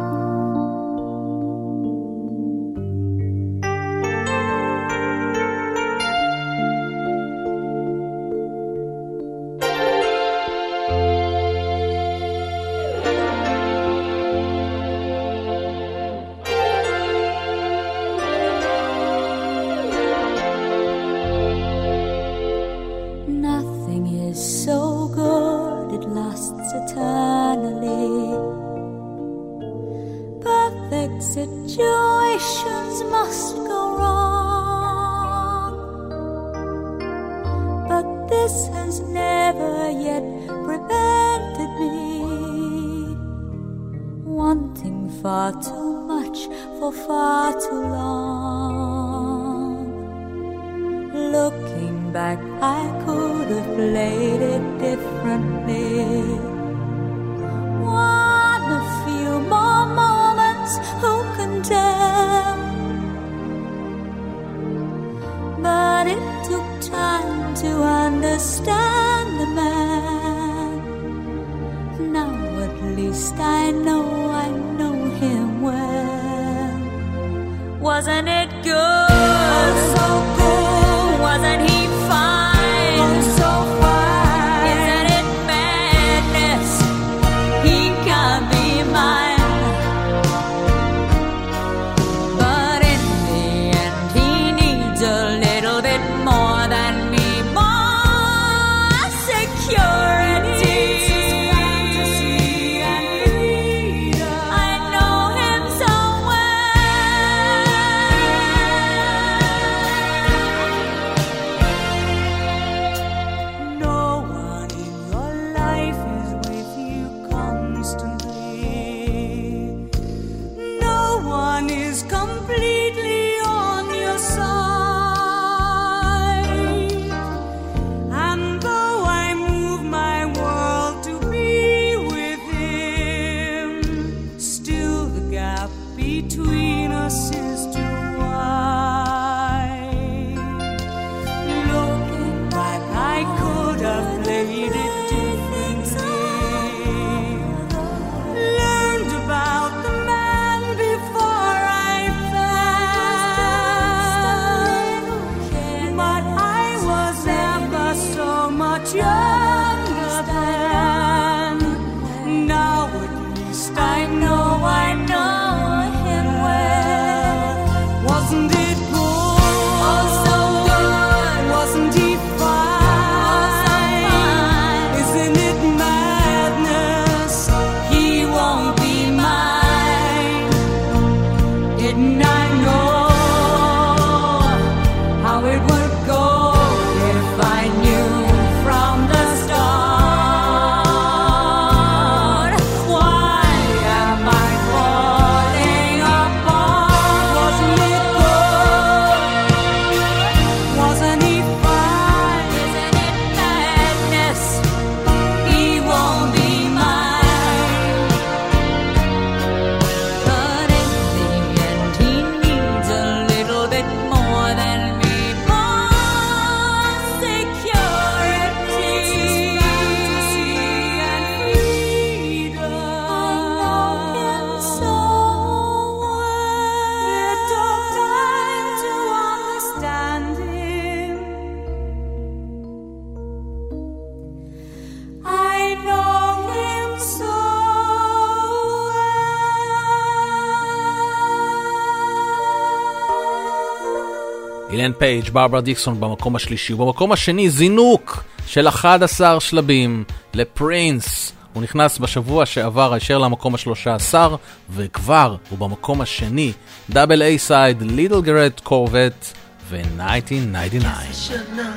אילן פייג', ברברה דיקסון במקום השלישי, ובמקום השני זינוק של אחד עשר שלבים לפרינס. הוא נכנס בשבוע שעבר הישר למקום השלושה עשר, וכבר הוא במקום השני, דאבל איי סייד, ליטל גרד קורבט ו-אלף תשע מאות תשעים ותשע.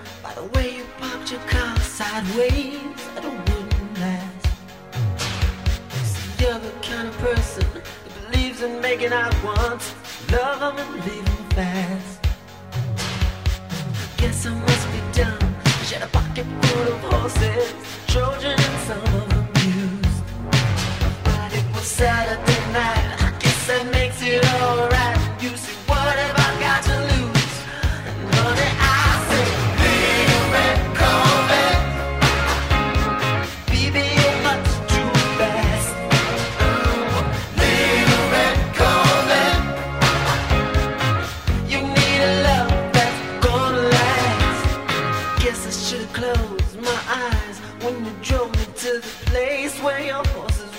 You're the kind of person that believes in making out once, love them and leave them fast. Guess I must be dumb. She had a pocket full of horses, Trojan and some of them used. But it was Saturday night, I guess that makes it alright. You see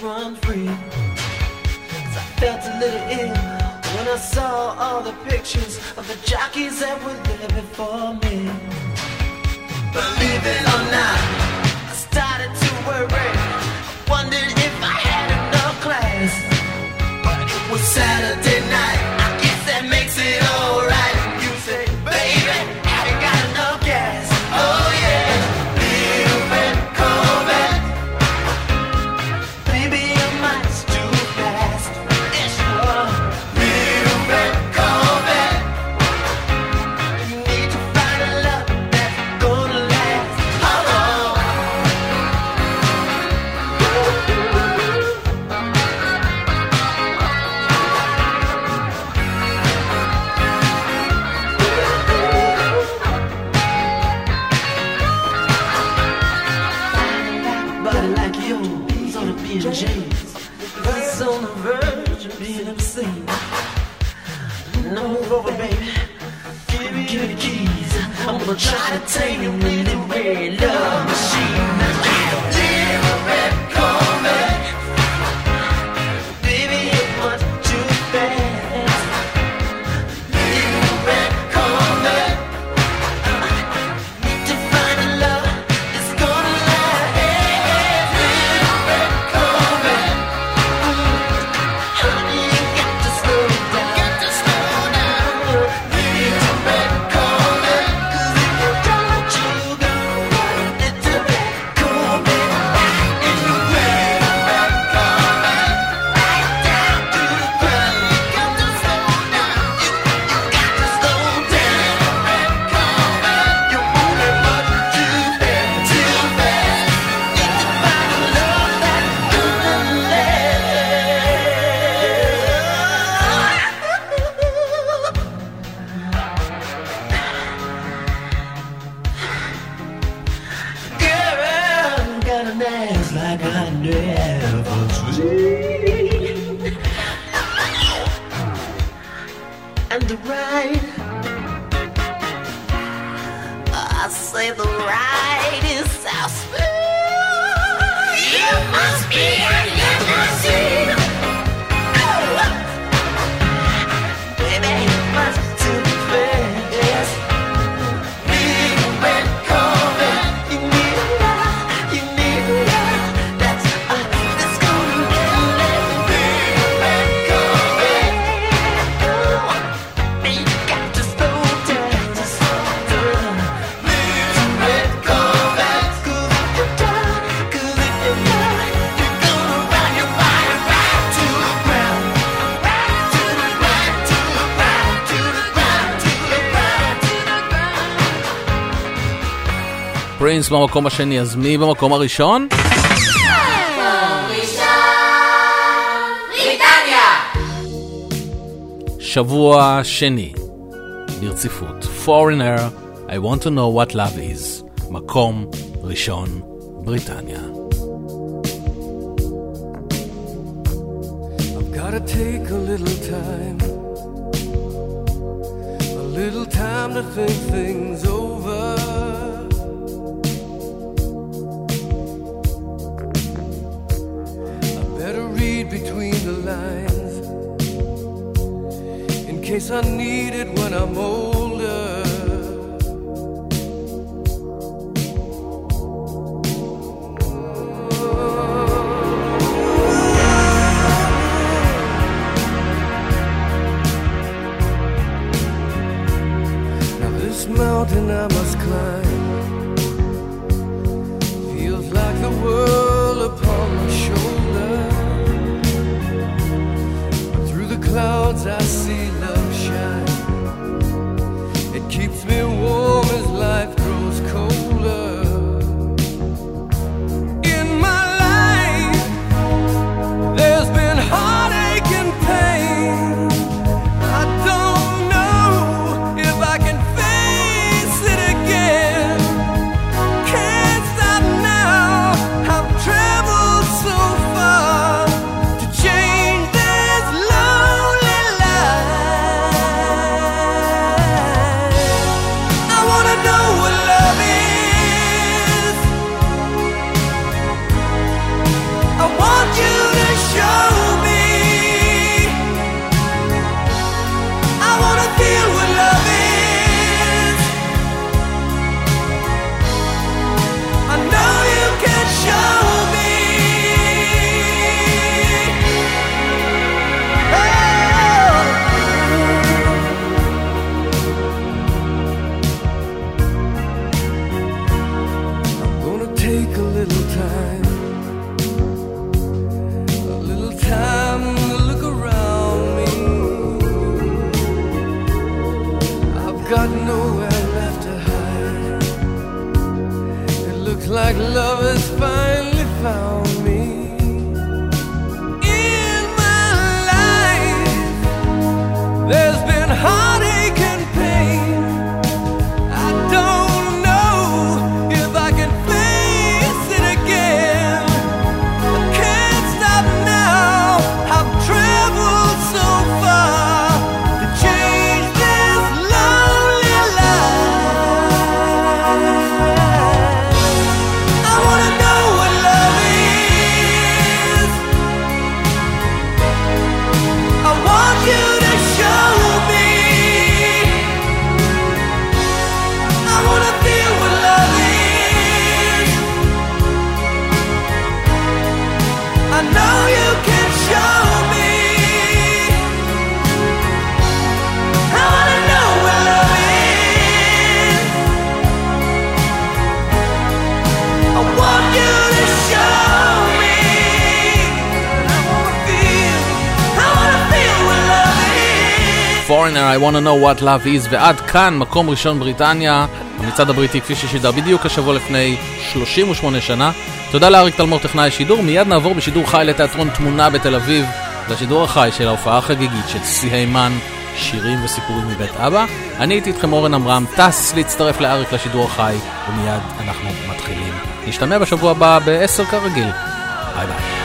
run free. 'Cause I felt a little ill when I saw all the pictures of the jockeys that were there before me. Believe it or not, I started to worry. I wondered if I had enough class. But it was Saturday night, I guess that makes it alright. You say, baby, have you got enough gas? Oh yeah, little red Corvette. Baby, your mind's too fast. Yes, you are. Little red Corvette. You need to find a love that's gonna last. Oh, oh. Body like yours ought to be in chains. It's on the verge of being obscene. Now move over, baby. Give me, give me the keys. I'm gonna try to tame your really red love machine. Little red Corvette. Baby, you're much too fast. Little red Corvette. Need to find a love that's gonna last. Little red Corvette. Honey, you got to slow down. Got to slow down. Little red Corvette. 'Cause if you don't, you go. Little red Corvette. In the red, red Corvette. Right down to the ground. You got to slow down. You, you got to slow down. Red Corvette. You're moving much too fast, too fast. Need to find a love that's gonna last. Girl, got an ass like I never seen. And the ride, I say the ride is so smooth. You must be a limousine. Oh, baby, you must too fast. Little red Corvette, you need a love, you need a love that's uh, that's gonna last. Little red Corvette, oh, you got to slow down, to slow down. Little red Corvette, 'cause if you're done, 'cause if you're done, you're gonna run your body right to the ground, right to the ground, to the ground, to the ground, to the ground, to the ground. פרינס במקום השני, אז מי במקום הראשון? שבוע שני ברציפות, Foreigner, I want to know what love is, מקום ראשון, בריטניה. I've gotta take a little time, a little time to think things over. I better read between the lines, in case I need it when I'm older. Now this mountain I must climb feels like the world upon my shoulder. But through the clouds I see love shine, know you can show me. I wanna know what love is. I want you to show me. I wanna feel, I wanna feel what love is. Foreigner, I wanna know what love is. ועד כאן, מקום ראשון בריטניה, המצעד הבריטי כפי ששידר בדיוק השבוע לפני שלושים ושמונה שנה. תודה לאריק תלמור טכנאי השידור. מיד נעבור בשידור חי לתיאטרון תמונה בתל אביב, לשידור החי של ההופעה החגיגית של צבי הימן, שירים וסיפורים מבית אבא. אני הייתי איתכם אורן אמרם, טס להצטרף לאריק לשידור החי, ומיד אנחנו מתחילים. נשתמע בשבוע הבא ב-עשר כרגיל. ביי ביי.